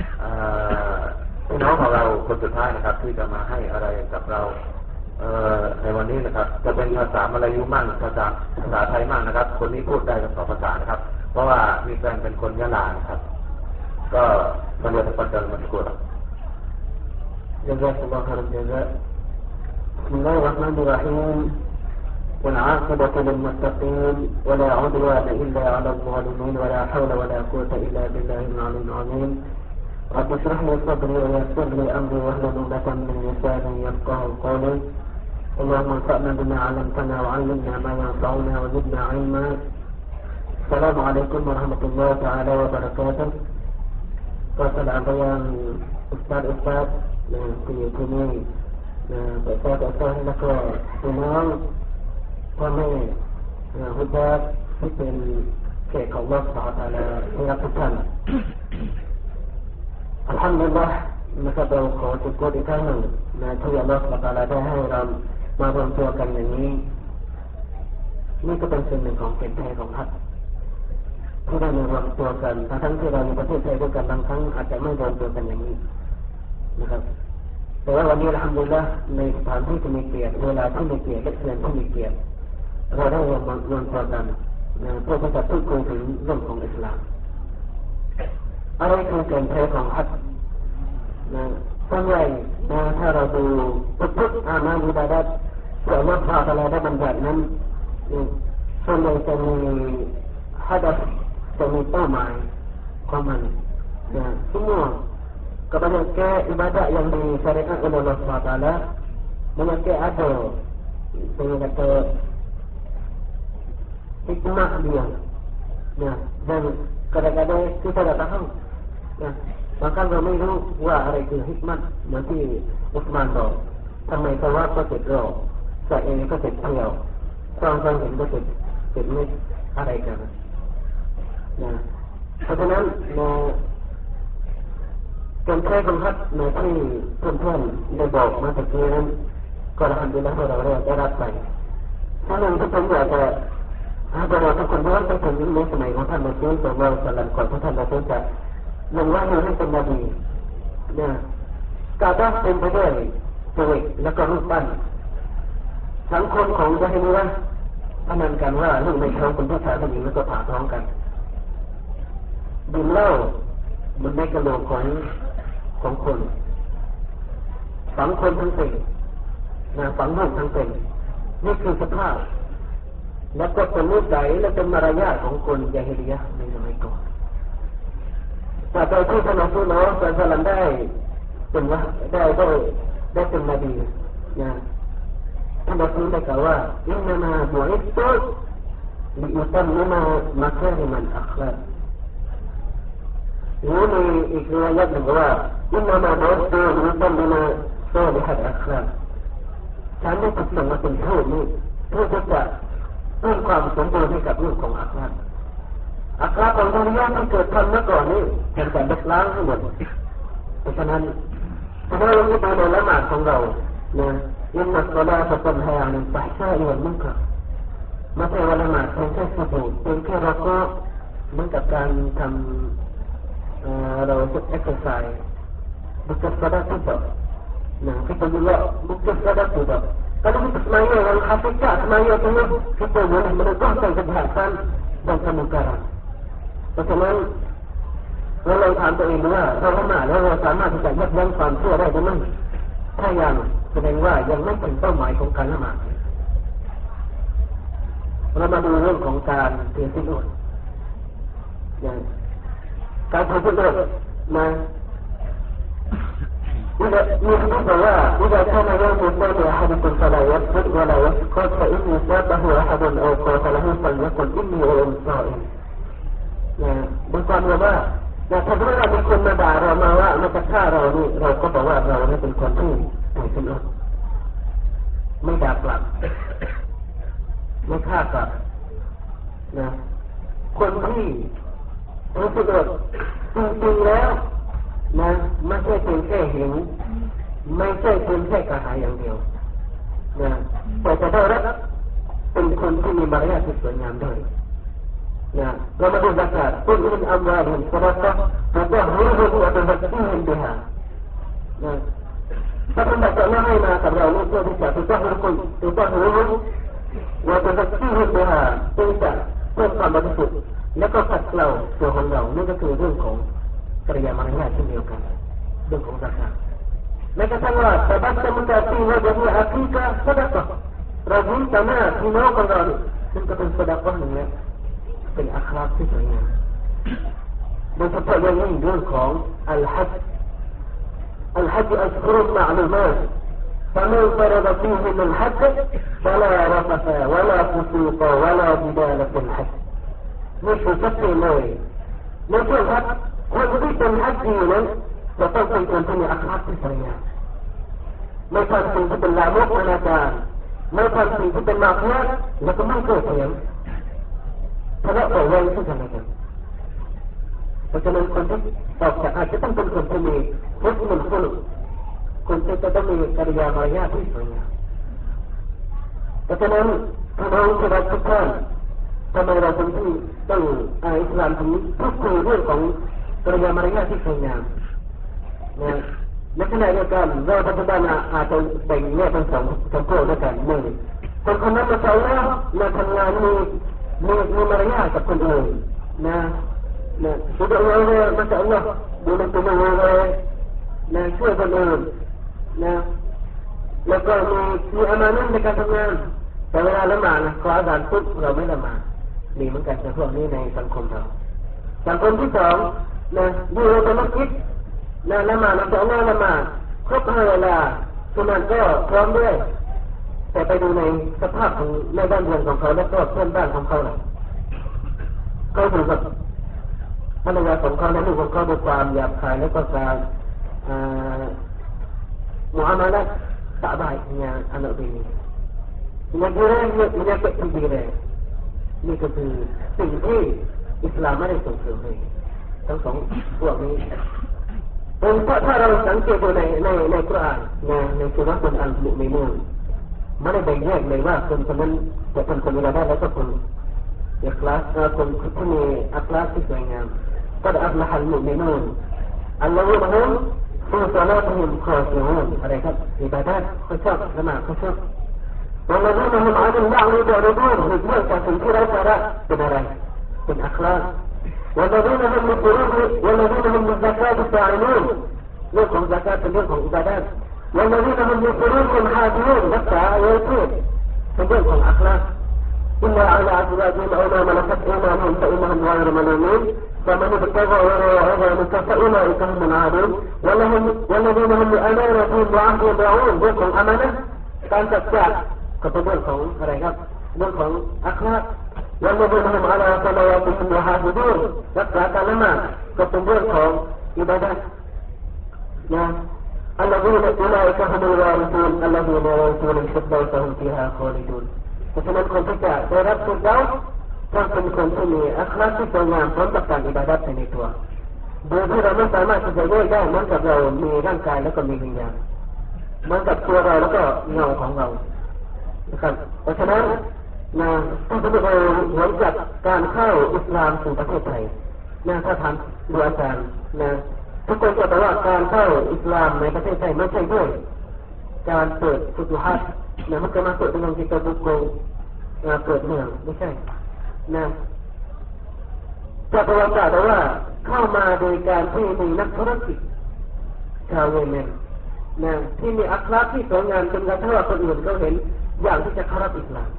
พี่น้องของเราคนสุดท้ายนะครับที่จะมาให้อะไรกับเราในวันนี้นะครับจะเป็นภาษามลายูมั่งภาษาไทยมั่งนะครับคนนี้พูดได้ทั้งสองภาษานะครับเพราะว่ามีแฟนเป็นคนยะลานะครับก็มาเรียนภาษาอังกฤษมาสกุล جزاك الله خير الجزاء بسم الله الرحمن الرحيم والعاقبة للمتقين ولا عدوان إلا على الظالمين ولا حول ولا قوة إلا بالله العلي العظيم رب اشرح لي صدري ويسر لي أمري واحلل عقدة من لساني يفقهوا قولي اللهم انفعنا بما علمتنا وعلمنا ما ينفعنا وزدنا علما السلام عليكم ورحمة الله تعالى وبركاته ก็สลามไปยังอุสตาดที่นี่แต่ก็แล้วก็พี่น้องพ่อแม่ผู้ญาติที่เป็นเขตของอัลเลาะห์ซุบฮานะฮูวะตะอาลาที่รักทุกท่านอัลฮัมดุลิลลาห์นะครับเราขอจุดโทษอีกครั้งหนึ่งที่อัลเลาะห์ซุบฮานะฮูวะตะอาลาได้ให้เรามารวมตัวกันอย่างนี้นี่ก็เป็นส่วนหนึ่งของเกณฑ์แท้ของฮัจญ์ที่ได้มารวมตัวกันทั้งที่เราในประเทศไทยด้วยกันบางครั้งอาจจะไม่รวมตัวกันอย่างนี้นะครับแต่ว่าวันนี้อัลฮัมดุลิลละห์ในสถานที่ที่มีเกียรติเวลาที่มีเกียรติและเดือนที่มีเกียรติเราได้รวมตัวกันเพื่อที่จะพูดคุยถึงเรื่องของอิสลามอะไรคือเกณฑ์แท้ของฮัจญ์ส่วนใหญ่ถ้าเราดูทุกอามาลอิบาดะห์ที่อัลเลาะห์ซุบฮานะฮูวะตะอาลาได้บัญญัตินั้นส่วนใหญ่จะมีฮัดษจะมีเป้าหมายของมันsemua kebanyakan ibadat yang disyariatkan oleh Allah SWT banyak ada saya kata hikmah dia dan kadang-kadang kita tak tahu makaเราไม่รู้ว่าอะไรคือฮิกมัตเหมือนที่อุสมานบอกทำไมสวาก็เสร็จรอสะเอก็เสร็จเที่ยวความเห็นก็เสร็จไม่อะไรกันเพราะฉะนั้นการแก้บังคับในที่เพื่อนๆได้บอกมาตะกี้นั้นก็อัลฮัมดุลิลลาห์เราได้รับไปถ้าเราทุกคนอยากจะเราทุกคนย้อนไปถึงในสมัยของท่านมุฮัมมัดศ็อลลัลลอฮุอะลัยฮิวะซัลลัมก่อนที่ท่านจะลงวะฮีให้เป็นนบีกาบะห์เต็มไปด้วยตัวเอกและก็รูปปั้นสังคมของญะฮิลิยะห์พนันกันว่าลูกในท้องเป็นผู้ชายผู้หญิงแล้วก็ผ่าท้องกันดื่มเหล้าบนในกระโหลกของคนฝังคนทั้งเป็นฝังลูกทั้งเป็นนี่คือสภาพแล้วก็เป็นนิสัยและเป็นมารยาทของคนญะฮิลิยะห์ในสมัยก่อนแต่โดยที่ท่านอัลลอฮฺศ็อลลัลลอฮุอะลัยฮิวะซัลลัมได้เป็นว่าได้เป็นนบีท่านอัลลอฮฺได้กล่าวว่าอินนามาบุอิษตุลิอุตัมมิมามัคาริมัลอัคลากนี่มีอีกเรื่องหนึ่งว่าอินนามาบุอิษตุลิอุตัมมิมาซอลิฮัตอัคลากฉันได้ถูกส่งมาเป็นทูตนี้เพื่อจะเพิ่มความสมบูรณ์ให้กับเรื่องของอัคลากของดุนยาที่เกิดขึ้นเมื่อก่อนนี้เป็นการลบล้างทั้งหมดเพราะฉะนั้นถ้าเราดูในละหมาดของเราอินนัสศอลาตะตันฮาอันิลฟะฮ์ชาอิวัลมุนกัรไม่ใช่ว่าละหมาดเพียงแค่สุญูดเพียงแค่เราก็เหมือนกับการทำเราฝึกเอ็กซ์ไซส์bukan sahadat tidak kita juga bukan sahadat tidak kalau kita semaya yang hakikat semaya itu kita boleh menegakkan kejahatan dan kemungkaranเพราะฉะนั้นเราลองถามตัวเองดูว่าเราละหมาดแล้วเราสามารถที่จะยับยั้งความชั่วได้หรือไม่ถ้ายังแสดงว่ายังไม่ถึงเป้าหมายของการละหมาดเรามาดูเรื่องของการเตือนสินอดการทำสินอดมามีคำบอกว่าإذا كان يوم الثاني أحدكم فلا يسجد ولا يسقط فإني سابه أحد أو قاتله فليقل إني صائمบางคนบอกว่าถ้าเมื่อมีคนมาด่าเรามาว่ามาจะฆ่าเรานี่เราก็บอกว่าเราเนี่ยเป็นคนที่ถือศีลอดไม่ด่ากลับไม่ฆ่ากลับคนที่ถือศีลอดจริงๆแล้วไม่ใช่เพียงแค่หิวไม่ใช่เพียงแค่กระหายอย่างเดียวแต่จะได้รับเป็นคนที่มีมารยาทที่สวยงามด้วยเรามาดูzakat قل من أموالهم صدقة تطهرهم وتزكيهم بها ถ้าคุณจะไม่ให้มากับเราเพื่อที่จะtutahhiruhum وتزكيهم بها เพื่อจะเพิ่มความบริสุทธิ์และก็ขัดเกลาตัวของเรานี่ก็คือเรื่องของกิริยามารยาทเช่นเดียวกันเรื่องของzakat แม้กระทั่งว่าแต่บัตรมุตาตีว่าจะมีอาคีกะสดะเรายิ้มต่อหน้าพี่น้องของเราซึ่งก็เป็นสดะหนึ่งแล้วเป็นอัคราที่สวยงามโดยเฉพาะอย่างยิ่งเรื่องของอัลฮัจอัชฮุรุมะลูมาต فمن فرض فيهم الحج فلا رفث ولا فسوق ولا جدال في الحج นี่คือชัดเจนเลยในช่วงฮัจญ์คนที่เป็นฮัจญ์นั้นจะต้องเป็นคนที่มีอัคราที่สวยงามไม่ทำสิ่งที่เป็นลามกอนาจารไม่ทำสิ่งที่เป็นมาเฟียแล้วก็ไม่เกิดเสียงทะเลาะเบาแวงซึ่งกันและกันเพราะฉะนั้นคนที่ออกจากอาจจะต้องเป็นคนที่มีพุทธมนต์คนที่จะต้องมีกิริยามารยาทที่สวยงามเพราะฉะนั้นพี่น้องที่รักทุกท่านทำไมเราถึงต้องอิสลามถึงพูดคุยเรื่องของกิริยามารยาทที่สวยงามในขณะเดียวกันเราปัจจุบันอาจจะแบ่งแยกเป็นสองพวกด้วยกันหนึ่งคนนั้นมาใช้แล้วมาทำงานมีมารยาทกับคนอื่นสุดท้ายเลยมาใช้แล้วดูแลตัวเองเลยช่วยคนอื่นแล้วก็มีอามานะในการทำงานแต่เวลาละหมาดขออาจารย์ปุ๊บเราไม่ละหมาดมีเหมือนกันในพวกนี้ในสังคมเราสังคมที่สองอยู่ในมัสยิดละหมาดเราจะละหมาดครบ5 เวลาฉะนั้นก็พร้อมด้วยแต่ไปดูในสภาพของในบ้านเรือนของเขาและก็เพื่อนบ้านของเขาเขาอยู่กับภรรยาของเขาและลูกของเขาด้วยความหยาบคายและก็การmuamalah tak baik dengan anak bini. Menyakit diri. Iniคือสิ่งที่อิสลามไม่ได้ส่งเสริมเลยทั้งสองพวกนี้ถ้าเราสังเกตดูในกุรอานในสุราะห์อัลมุมินูนไม่ได้แบ่งแยกเลยว่าคนนั้นจะเป็นคนอิบาดะห์แล้วก็คนอิคลาสคนที่มีอัคลาสที่สวยงามก็ได้อัลลอฮฺอัลมุมินูนอัลลอฮฺมะฮุมفي صلاتهم خاشعونอะไรครับอิบาดะห์เขาชอบละหมาดเขาชอบوالذين هم عن اللغو معرضون หลีกเลี่ยงจากสิ่งที่ไร้สาระเป็นอะไรเป็นอัคลาสوالذين هم للزكاة فاعلون เรื่องของ زكاة เป็นเรื่องของอิบาดะห์والذين هم لفروجهم حافظون รักษาอวัยวะเพศเป็นเรื่องของอัคลาสإلا على أزواجهم أو ما ملكت أيمانهم فإنهم غير ملومين فمن ابتغى وراء ذلك فأولئك هم العادون والذين هم لأمانتهم وعهدهم راعون เรื่องของอามานะห์การจัดการก็เป็นเรื่องของอะไรครับเรื่องของอัคลาสوالذين هم على صلواتهم يحافظون รักษาการละหมาดก็เป็นเรื่องของอิบาดะห์الذين أولئك هم الوارثون الذين يرثون الفردوس هم فيها خالدون เพราะฉะนั้นคนที่จะได้รับฟิรเดาส์ต้องเป็นคนที่มีอัคลาสที่สวยงามพร้อมกับการอิบาดะห์ในตัวโดยที่เราไม่สามารถที่จะแยกได้เหมือนกับเรามีร่างกายแล้วก็มีวิญญาณเหมือนกับตัวเราแล้วก็เงาของเรานะครับเพราะฉะนั้นถ้าสมมติเราหลังจากการเข้าอิสลามสู่ประเทศไทยถ้าถามดูอาจารย์ทุกคนจะบอกว่าการเข้าอิสลามในประเทศไทยไม่ใช่ด้วยการเปิดฟุตุฮัตมันจะมาเปิดเป็นกิจบุคคลเปิดเมืองไม่ใช่จะประวัติศาสตร์ว่าเข้ามาโดยการที่มีนักธุรกิจชาวเยเมนที่มีอัคลาสที่สวยงามจนกระทั่งคนอื่นเขาเห็นอยากที่จะเข้ารับอิสลาม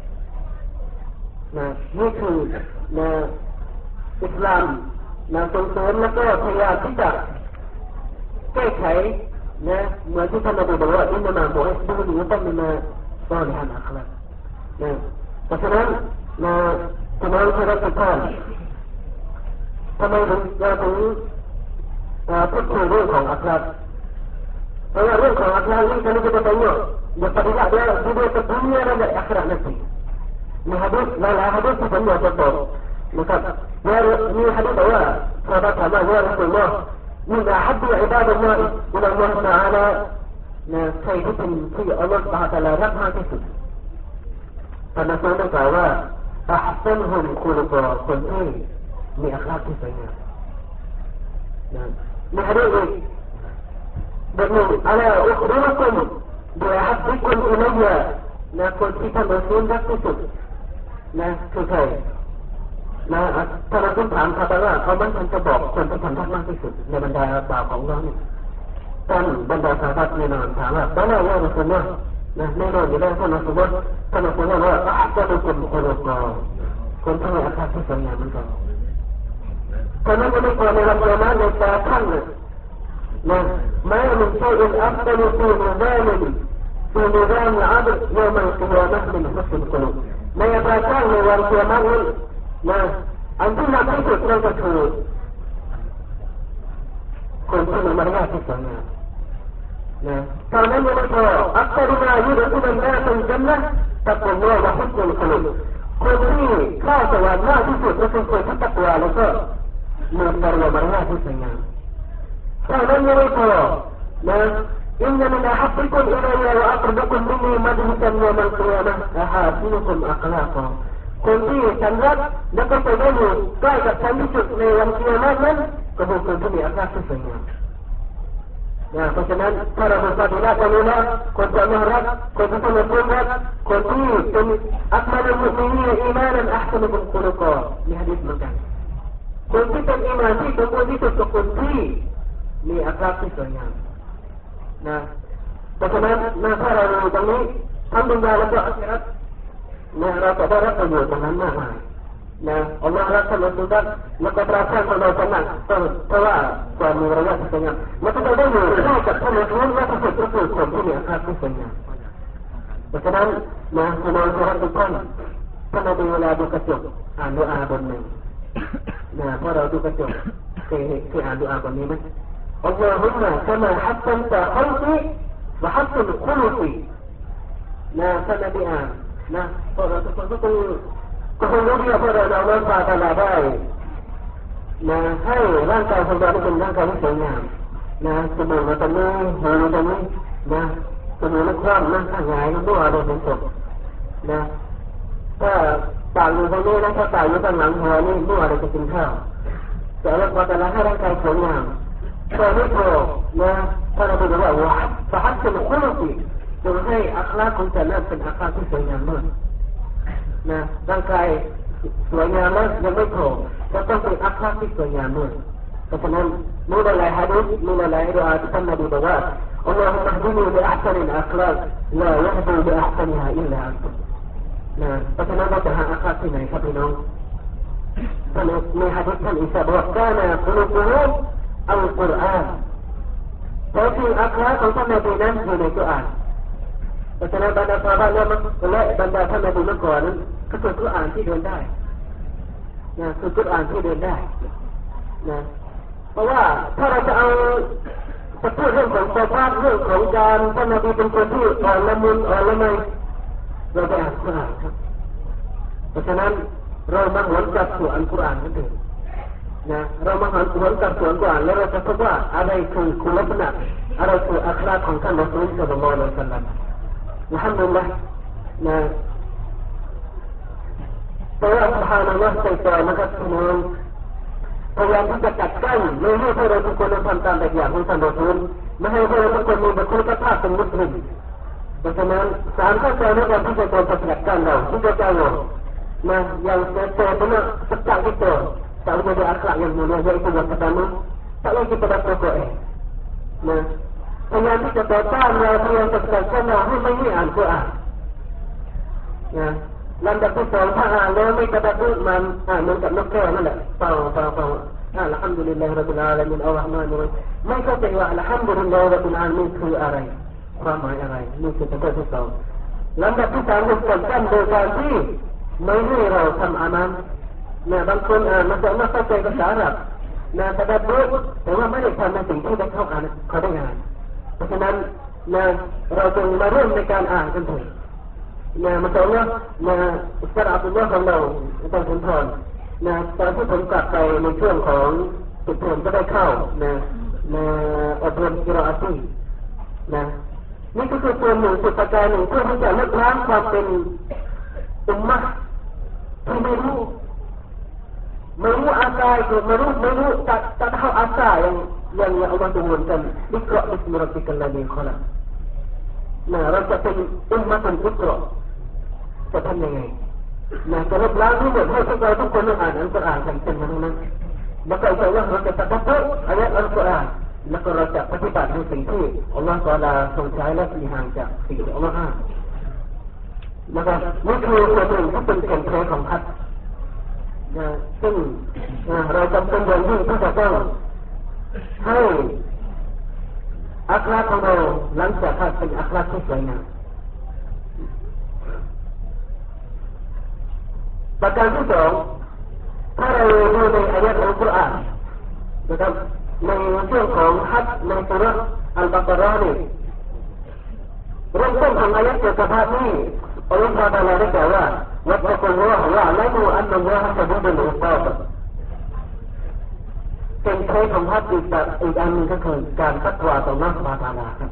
นี่คืออิสลามส่งเสริมแล้วก็พยายามที่จะแก้ไขเหมือนที่ท่านนบีบอกว่าอินนาบอกให้ดูหนูต้องมีมาสอนให้อัคลาสเพราะฉะนั้นทำไมเราถึงทำไมเราถึงพูดคุยเรื่องของอัคลาสเพราะว่าเรื่องของอัคลาสนี่kalau kita tanya dia pada dia ke dunia dan akhirat nanti ini hadis hadis sebenarnya betul maka ini hadis bahwa sahabat sama ya Rasulullah min ahabbu ibadallah ila Allah Taala ใครที่เป็นที่อัลเลาะห์ซุบฮานะฮูวะตะอาลารักมากที่สุดท่านนบีได้กล่าวว่าอัห์ซันฮุมคุลุกะคนที่มีอัคลาสที่สวยงามมีฮะดีษบทหนึ่งอะลาอุคบิรุกุมบิอะฮับบิกุมอิลัยยะคนที่ท่านรอซูลรักที่สุดคือใครถ้าเราต้องถามเขาว่าเขามันจะบอกคนที่ท่านรักมากที่สุดในบรรดาบ่าวของเราเนี่ยท่านบรรดาสาบัดแน่นอนถามว่าตอนนั้นว่าเราสมมตินะแน่นอนอยู่แล้วท่านสมมติว่าอาจจะเป็นคนโคโลกอคนที่มีอาการที่สวยงามเหมือนกันคนนั้นจะไม่กลัวในวันเดียวนะในตาท่านนะما من شيء أفضل في نظام العدل يوم القيامة من حسن القلوب ما يبقىในวันเกียรตินะอันที่หนักที่สุดนั่นก็คือคนที่มีมารยาทที่สวยงามนะตอนนั้นยังไม่พออัครมายุดทุบันนาเป็นจันนะตักตัวว่าฮุสนุลกุลูบคนที่เข้าสวรรค์มากที่สุดก็คือคนที่ตักวาแล้วก็มีมารยาทที่สวยงามตอนนั้นยังไม่พอนะإن من أحبكم إلي وأقربكم مني مجلسا يوم القيامة أحاسنكم أخلاقاคนที่ฉันรักแล้วก็ไปได้อยู่ใกล้กับฉันที่สุดในวันเกียรตินั้นก็คือคนที่มีอัคราที่สวยงามเพราะฉะนั้นถ้าเราเป็นปฏิบัติกันแล้วคนที่น่ารักคนที่เป็นคนรักคนที่เป็นอัคมานุมุนีอีมานันอัพนุบุคุลกอมีหะดีษเหมือนกันคนที่เป็นอีมานที่สมบูรณ์ที่สุดกับคนที่มีอัคราที่สวยงามเพราะฉะนั้นถ้าเราอยู่ตรงนี้ทั้งดุนยาและก็อาคิเราะห์เราจะได้รับประโยชน์ตรงนั้นมากมายอัลลอฮฺรักท่านสุดท้ายแล้วก็ประทานความเราสนั่นเพราะว่าความมีระยะที่สวยงามแล้วก็ได้อยู่ใกล้กับท่านสุดท้ายและที่สุดก็คือคนที่มีอาคาที่สวยงามเพราะฉะนั้นคุณน้องทุกท่านถ้าเราดูเวลาดูกระจกอ่านดูอาบนหนึ่งพอเราดูกระจกเคยอ่านดูอาบนนี้ไหมاللهم كما حسنت خلقي وحسن خلقي ท่านนบีอ่านพวกเราทุกคนก็คงรู้ที่พวกเราเราพาตลาดได้ให้ร่างกายของเราเป็นร่างกายที่สวยงามจมูกเราตรงนี้หูเราตรงนี้จมูกเราคว่ำข้างหงายด้วยอารมณ์เป็นศพถ้าปากอยู่ตรงนี้ถ้าปากอยู่ข้างหลังหัวนี่ด้วยอะไรจะกินข้าวแต่เราพอแต่ละให้ร่างกายสวยงามก็ไม่พอถ้าเราบอกว่าว่าสหัสเป็นคนที่จะให้อัคราของแต่ละเป็นอัคราที่สวยงามมากร่างกายสวยงามแล้วยังไม่พอจะต้องเป็นอัคราที่สวยงามด้วยเพราะฉะนั้นมีหลายฮะดีษมีหลายดุอาที่ท่านนบีบอกว่าอัลลอฮุมะฮดินีบิอัห์ซานิลอัคลากลายัฮดีบิอัห์ซานิฮาอิลลาอันตุเพราะฉะนั้นเราจะหาอัคราที่ไหนครับพี่น้องท่านมีฮะดีษท่านอิสาบอกกานะกุลูบุฮุมอัลกุรอานเพราะที่อัคราของท่านนบีนั้นอยู่ในกุรอานเพราะฉะนั้นบรรดาซอฮาบะห์และบรรดาท่านนบีเมื่อก่อนนั้นก็คือกุรอานที่เดินได้คือกุรอานที่เดินได้เพราะว่าถ้าเราจะเอาจะพูดเรื่องของสภาพเรื่องของการท่านนบีเป็นคนที่อ่อนละมุนอ่อนละไมเราไปอ่านกุรอานครับเพราะฉะนั้นเรามาหวนกลับสู่อัลกุรอานกันเถิดเรามาหวนกลับสู่อัลกุรอานแล้วเราจะพบว่าอะไรคือคุณลักษณะอะไรคืออัคราของท่านรอซูลศ็อลลัลลอฮุอะลัยฮิวะซัลลัมอัลฮัมดุลิลลาห์แต่ว่าซุบฮานัลลอฮ์ใจต่อนะครับพี่น้องพยายามที่จะกัดกั้นไม่ให้พวกเราทุกคนทำตามแบบอย่างของท่านรอซูลไม่ให้พวกเราทุกคนมีบุคลิกภาพเป็นมุสลิมเพราะฉะนั้นสารข้อใจในการที่จะโดนกัดกั้นเราที่จะเจ้าyang benar sejak kita tak menjadi akhlak yang mulia iaitu yang pertama tak lagi pada pokoknya yang kita datang yang terkait memahami Al-Quran lambdaที่ 2ถ้าอ่านแล้วไม่กระดุกมันเหมือนกับนกแก้วนั่นแหละเป่าอัลฮัมดุลิลลาฮิร็อบบิลอาลามีนอัลรอฮ์มานิรเราะฮีมไม่เข้าใจว่าอัลฮัมดุลิลลาฮิร็อบบิลอาลามีนคืออะไรความหมายอะไรนี่คือประเด็นที่ 2ลำดับที่ 3คือการกั้นโดยการที่ไม่ให้เราทำอามันบางคนมันจะไม่เข้าใจภาษาอาหรับแต่ได้รู้แต่ว่าไม่ได้ทำในสิ่งที่ได้เข้าอ่านเขาได้งานเพราะฉะนั้นเราจึงมาร่วมในการอ่านกันเถิดmisalnya Ustaz Abdullahของเราต้องสุนทรตอนที่ผมกลับไปในช่วงของปิดเทอมก็ได้เข้าอบรมกิรออาตีนี่ก็คือส่วนหนึ่งสุดประการหนึ่งเพื่อที่จะลดล้างความเป็นอุมมะที่ไม่รู้asal ituไม่รู้tak tahu asal yang Allah turunkan Iqra bismi rabbikal ladzi khalaqเราจะเป็นอุมมะตุลอิกรอจะทำยังไงจะลบล้างทั้งหมดให้พวกเราทุกคนอ่านอัลกุรอานกันเป็นทั้งนั้นแล้วก็อินชาอัลลอฮ์เราจะตัดบทอายะห์อัลกุรอานแล้วก็เราจะปฏิบัติในสิ่งที่อัลลอฮฺตะอาลาทรงใช้และสีห่างจากสิ่งที่อัลลอฮฺห้ามนะครับนี่คือส่วนหนึ่งที่เป็นแก่นแท้ของฮัจญ์ซึ่งเราจำเป็นอย่างยิ่งที่จะต้องให้อัคราของเราหลังจากฮัจญ์เป็นอัคราที่สวยงามประการที่สองถ้าเราดูในอายะห์อัลกุรอานนะครับในช่วงของฮัจญ์ในสุเราะห์อัลบะเกาะเราะห์นี่เริ่มต้นของอายะห์เกี่ยวกับภาพนี้อัลลอฮฺตะอาลาได้กล่าวว่าวัตตะกุลลอฮฺวะละมูอันนัลลอฮฺชะดีดุลอิกาบเป็นแท้ของฮัจญ์อีกอันหนึ่งก็คือการตักวาต่ออัลลอฮฺซุบฮานะฮูวะตะอาลาครับ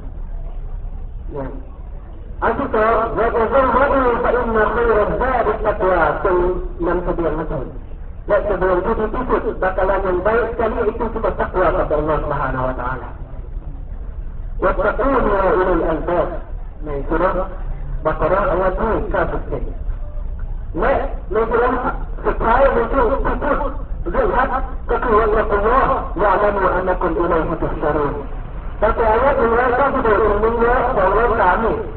อันที่สองวะตะซัววะอูฟะอินนะค็อยรัซซาดิตักวาจงนำเสบียงมาส่งและเสบียงที่ดีที่สุดbakalan yang baik sekali itu kita takwa kepada Allah Subhanahu wa taala. Wattaquni ya ulul albab.ในสุเราะห์บะเกาะเราะห์อายะห์ที่97และในสุเราะห์สุดท้ายในช่วงที่พูดเรื่องฮัจญ์ก็คือว่าอัลลอฮฺยะละมูอันนะกุมอิลัยฮิตุฮ์ชารูนแต่อายะห์193นี่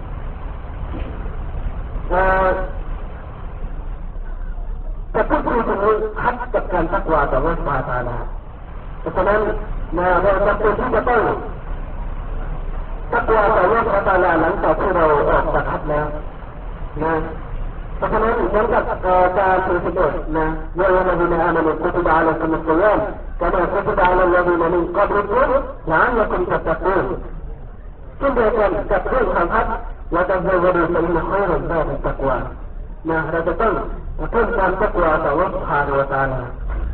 จะพูดถึงฮัจญ์กับการตักวาต่ออัลเลาะห์ซุบฮานะฮูวะตะอาลาเพราะฉะนั้นเราจำเป็นที่จะต้องตักวาต่ออัลเลาะห์ซุบฮานะฮูวะตะอาลาหลังจากที่เราออกจากฮัจญ์แล้วนะเพราะฉะนั้นเหมือนกับการถือศีลอดนะยาอัยยูฮัลลซีนาอามานูกุติบะอะลัยกุมุศศิยามกะมากุติบะอะลัลลซีนามินกับลิกุมละอัลลักุมตัตตะกูนเช่นเดียวกันกับเรื่องของฮัจญ์ละตัซาวะดูฟะอินนะค็อยรัซซาดิตักวานะเราจะต้องเพิ่มความตักวาต่ออัลเลาะห์ซุบฮานะฮูวะตะอาลา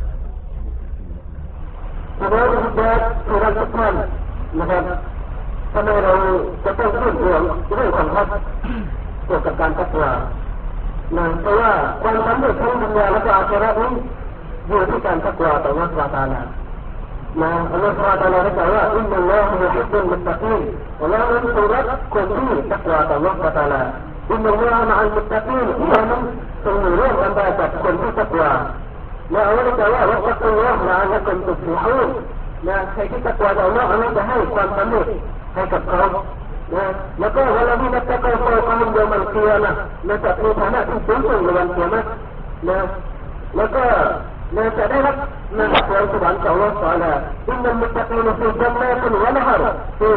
เพราะฉะนั้นที่เราทุกท่านนะครับทำไมเราจะต้องพูดเรื่องของฮัจญ์เกี่ยวกับการตักวาเพราะว่าความสำเร็จทั้งดุนยาและก็อาคิเราะห์นี้อยู่ที่การตักวาต่ออัลเลาะห์ซุบฮานะฮูวะตะอาลาอัลลอฮฺซุบฮานะฮูวะตะอาลาได้กล่าวว่าอินนัลลอฮะยุฮิบบุลมุตตะกีนอัลลอฮฺนั้นทรงรักคนที่ตักวาต่ออัลเลาะห์ซุบฮานะฮูวะตะอาลาอินนัลลอฮะมะอัลมุตตะกีนอัลลอฮฺนั้นทรงอยู่ร่วมกันกับคนที่ตักวาและอัลลอฮฺได้กล่าวว่าวัตตักุลลอฮะละอัลลักุมตุฟลิฮูนใครที่ตักวาต่ออัลเลาะห์อัลเลาะห์จะให้ความสำเร็จให้กับเขาแล้วก็วะลาดีนัตตะกอฟอกุมยอมัลกิยามะห์จะมีฐานะที่สูงส่งในวันกิยามะห์แล้วก็จะได้รับความสวรรค์จากอัลเลาะห์ซุบฮานะฮูวะตะอาลาอินนัลมุตตะกีนฟีญันนาติวะนะฮรฟี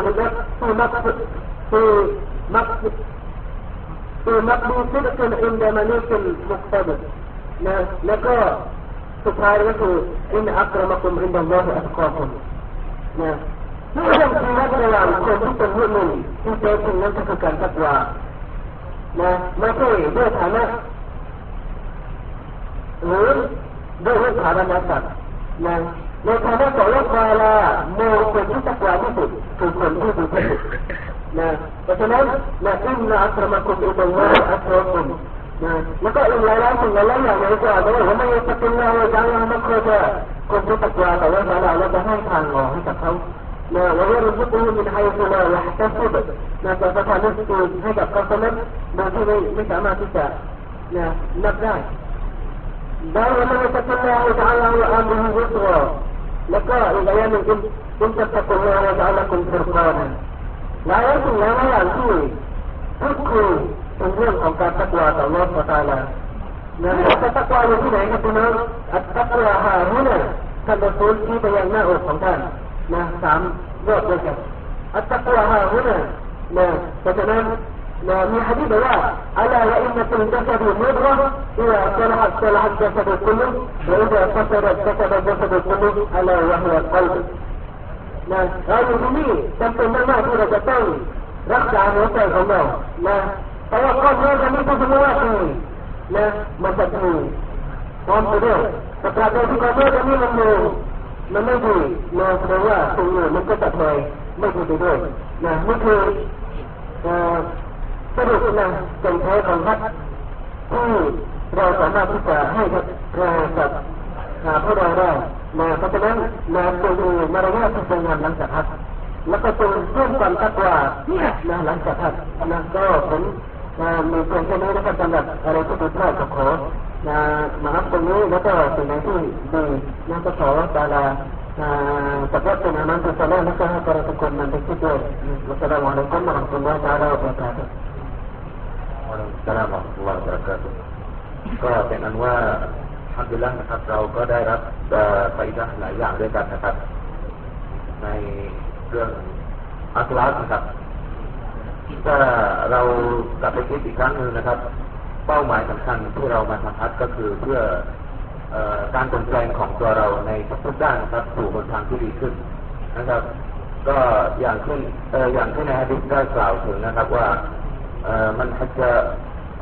มักดีซิดกุนอินดะมะลิกิลมุกตะดิรแล้วก็สุดท้ายก็คืออินอักรมะกุมอินดัลลอฮิอัตกอกุมเรื่องชีวิตระหว่างคนที่เป็นมุมินที่แท้จริงนั้นก็คือการตักวาไม่ใช่ด้วยฐานะหรือด้วยฐานะศักดิ์ในฐานะของอัลเลาะห์ตะอาลามองคนที่ตักวาที่สุดคือคนที่ดีที่สุดเพราะฉะนั้นอินนะอักรมะกุมอินดัลลอฮิอัตกอกุมแล้วก็อีกหลายๆสิ่งหลายๆอย่างในกุรอานบอกว่าไม่ยัตกิลลาฮวะญะอัลมักรจะคนที่ตักวาต่ออัลเลาะห์ตะอาลาแล้วจะให้ทางออกให้กับเขาويرزقه من حيث لا يحتسب จะประทานริสก์ให้กับเขานั้นโดยที่ไม่สามารถที่จะนับได้ได้ว่ามันจะเป็นเราจะเอาอันนี้ยุติแล้วก็อีกอย่างหนึ่งคุณจะตะโกนเราจะเอาคุณฟุรกานหลายสิ่งหลายอย่างที่พูดคุยเป็นเรื่องของการตักวาต่ออัลเลาะห์ซุบฮานะฮูวะตะอาลาแต่ตักวาอยู่ที่ไหนครับพี่น้องตักวาฮาฮุนะท่านรอซูลที่ไปยังหน้าอกของท่านสามรอบด้วยกันอัตตะกวาฮาฮุนะเพราะฉะนั้นมีหะดีษว่าอะลาว่าอินนะฟิลจัสดิมุดเราะห์อิซาซะละฮะซะละฮะจัสดุคุลลุวะอิซาฟัสดะจัสดะจัสดุคุลลุอะลาวะฮุวัลกัลบเราอยู่ที่นี่จำเป็นมากๆที่เราจะต้องรักษาหัวใจของเราเพราะว่าก้อนเนื้อจะไม่ต้องสมมติว่ามันจะถูกพร้อมไปด้วยแต่การที่ก้อนเนื้อจะมันไม่ดีแสดงว่าตรงนี้มันก็จะถอยไม่ดีไปด้วยนี่คือสรุปเป็นแท้ของฮัจญ์ที่เราสามารถที่จะให้กับพวกเราได้เพราะฉะนั้นจงมีมารยาทที่สวยงามหลังจากฮัจญ์แล้วก็จงเพิ่มความตักวาหลังจากฮัจญ์ก็ผมมีเพียงแค่นี้นะครับสำหรับอะไรที่ผิดพลาดก็ขอมารับตรงนี้แล้วก็สิ่งไหนที่ดีก็ขอตะอาลา Sebab nama salah maka para tokoh nanti itu. Wassalamualaikum warahmatullahi wabarakatuh. Waalaikumsalam warahmatullahi wabarakatuh. ก็เป็นอันว่าอัลฮัมดุลิลละห์นะครับเราก็ได้รับฟาอิดะห์หลายอย่างด้วยกันนะครับในเรื่องอัคลาฟนะครับถ้าเรากลับไปคิดอีกครั้งนึงนะครับเป้าหมายสำคัญที่เรามาทำฮัจญ์ก็คือเพื่อการเปลี่ยนแปลงของตัวเราในทุกด้านนะครับสู่บนทางที่ดีขึ้นนะครับก็อย่างที่ในหะดีษได้กล่าวถึงนะครับว่ามันฮัจญ์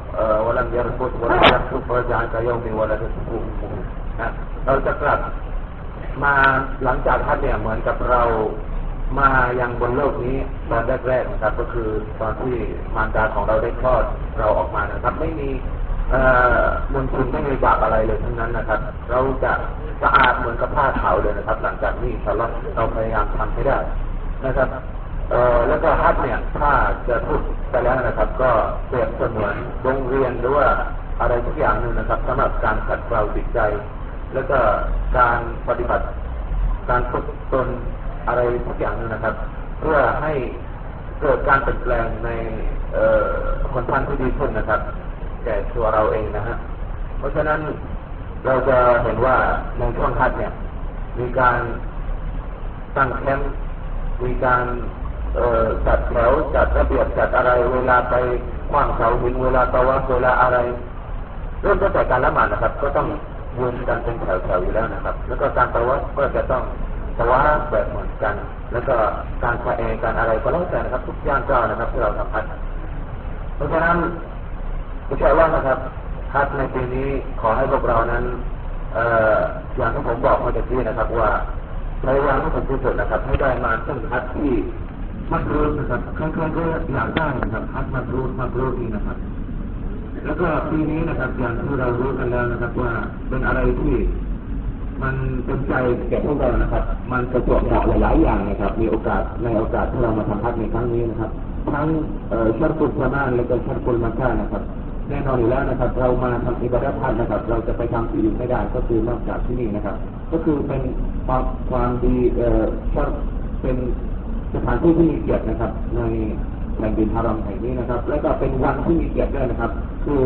ولم يرفض ولم يفسق رجع كيوم ولدته أمه นะเราจะกลับมาหลังจากฮัจญ์เนี่ยเหมือนกับเรามายังบนโลกนี้ตอนแรกๆนะครับก็คือตอนที่มารดาของเราได้คลอดเราออกมานะครับไม่มีมลทินไม่มีบาปอะไรเลยทั้งนั้นนะครับเราจะสะอาดเหมือนกับผ้าขาวเลยนะครับหลังจากนี้เราพยายามทำให้ได้นะครับแล้วก็ฮัจญ์เนี่ยถ้าจะพูดไปแล้วนะครับก็เปรียบเสมือนโรงเรียนหรือว่าอะไรทุกอย่างนึงนะครับสำหรับการขัดเกลาจิตใจแล้วก็การปฏิบัติการฝึกตนอะไรทุกอย่างนึงนะครับเพื่อให้เกิดการเปลี่ยนแปลงในคนท่านที่ดีขึ้นนะครับแก่ตัวเราเองนะฮะเพราะฉะนั้นเราจะเห็นว่าในช่วงฮัจญ์เนี่ยมีการตั้งแคมป์มีการจัดแถวจัดระเบียบจัดอะไรเวลาไปขว้างเสาหินเวลาตะวัฟเวลาอะไรเริ่มตั้งแต่การละหมาดนะครับก็ต้องยืนกันเป็นแถวๆอยู่แล้วนะครับแล้วก็การตะวัฟก็จะต้องตะวัฟแบบเหมือนกันแล้วก็การสะเอการอะไรก็แล้วแต่นะครับทุกอย่างก็นะครับที่เราทำฮัจญ์เพราะฉะนั้นอินชาอัลลอฮ์นะครับฮัจญ์ในปีนี้ขอให้พวกเรานั้นอย่างที่ผมบอกเมื่อกี้นะครับว่าพยายามให้ถึงที่สุดนะครับให้ได้มาซึ่งฮัจญ์ที่มักรูษนะครับใครๆก็อยากได้นะครับฮัจญ์มักรูษนี่นะครับแล้วก็ปีนี้นะครับอย่างที่เรารู้กันแล้วนะครับว่าเป็นอะไรที่มันเป็นใจแก่พวกเรานะครับมันประจวบเหมาะหลายๆอย่างนะครับมีโอกาสที่เรามาทำฮัจญ์ในครั้งนี้นะครับทั้งชัรตุลซะมานและก็ชัรตุลมักกะฮ์นะครับแน่นอนอยู่แล้วนะครับเรามาทำอิบาดะห์ฮัจญ์นะครับเราจะไปทำที่อื่นไม่ได้ก็คือนอกจากที่นี่นะครับก็คือเป็นความดีเป็นสถานที่ที่มีเกียรตินะครับในแผ่นดินฮารอมแห่งนี้นะครับและก็เป็นวันที่มีเกียรติด้วยนะครับคือ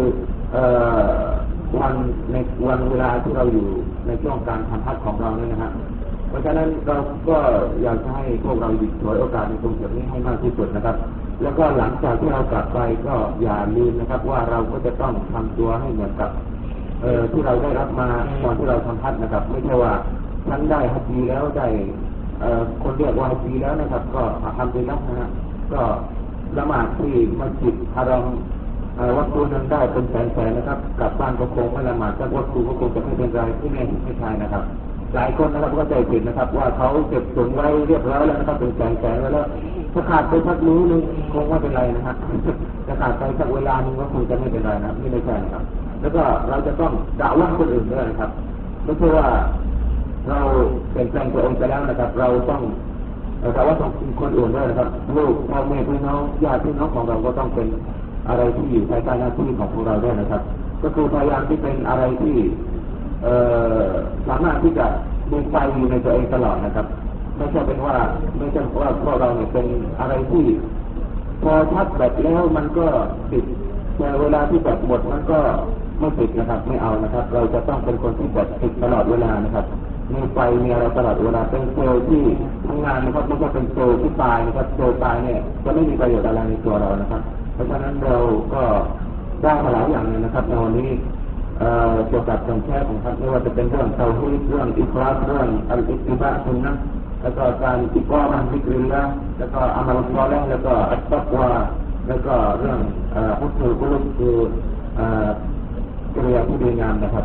วันเวลาที่เราอยู่ในช่วงการทำฮัจญ์ของเราเนี่ยนะครับเพราะฉะนั้นเราก็อยากให้พวกเราหยิบฉวยโอกาสในตรงจุดนี้ให้มากที่สุดนะครับแล้วก็หลังจากที่เรากลับไปก็อย่าลืมนะครับว่าเราก็จะต้องทำตัวให้เหมือนกับที่เราได้รับมาตอนที่เราทำฮัจญ์นะครับไม่ใช่ว่าฉันได้ฮัจญ์แล้วได้คนเรียกว่าฮัจญ์แล้วนะครับก็ทำไปแล้วนะฮะก็ละหมาดที่มัสยิดฮารอมวัตถุนั้นได้เป็นแสนๆนะครับกลับบ้านก็คงไม่ละหมาดสักวัตถุก็คงจะไม่เป็นไรที่แน่ไม่ใช่นะครับหลายคนนะครับก็ใจผิดนะครับว่าเขาเก็บตุนไว้เรียบร้อยแล้วนะครับเป็นแสนๆแล้วถ้าขาดไปสักมื้อนึงคงไม่เป็นไรนะครับถ้าขาดไปสักเวลานึงก็คงจะไม่เป็นไรนะไม่ใช่นะครับแล้วก็เราจะต้องด่าว่าคนอื่นด้วยนะครับไม่ใช่ว่าเราเปลี่ยนแปลงตัวเองไปแล้วนะครับเราต้องแต่ว่าต้องคนอื่นด้วยนะครับลูกพ่อแม่พี่น้องญาติพี่น้องของเราก็ต้องเป็นอะไรที่อยู่ภายใต้หน้าที่ของพวกเราด้วยนะครับก็คือพยายามที่เป็นอะไรที่สามารถที่จะมีไฟอยู่ในตัวเองตลอดนะครับไม่ใช่ว่าพวกเราเนี่ยเป็นอะไรที่พอชัดแบบแล้วมันก็ติดแต่เวลาที่แบบหมดมันก็ไม่ติดนะครับไม่เอานะครับเราจะต้องเป็นคนที่แบบติดตลอดเวลานะครับมีไฟมีอะไรตลอดเวลาเป็นเซลล์ที่ทำงานนะครับไม่ใช่เป็นเซลล์ที่ตายนะครับเซลล์ตายเนี่ยจะไม่มีประโยชน์อะไรในตัวเรานะครับเพราะฉะนั้นเราก็ได้มาหลายอย่างเลยนะครับในวันนี้เกี่ยวกับการแชร์ของท่านไม่ว่าจะเป็นเรื่องเตาฮีดเรื่องอิคลาสเรื่องอัลอิติบะซุนนะห์แล้วก็การอิกอมะฮ์ซิกริลละห์แล้วก็อามัลศอลิฮ์แล้วก็อัตตักวาแล้วก็เรื่องฮุสนุลกุลุบคือกิริยาที่ดีงามนะครับ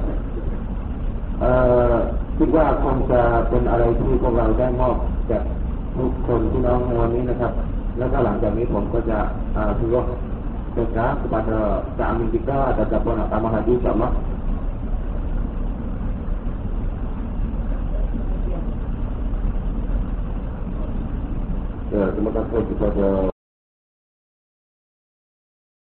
คิดว่าคงจะเป็นอะไรที่พวกเราได้มอบจากทุกคนที่น้องในวันนี้นะครับแล้วก็หลังจากนี้ผมก็จะถือว่าberkah kepada kami kita ataupun tambahan haji insyaAllah. Ya, terima kasih kepada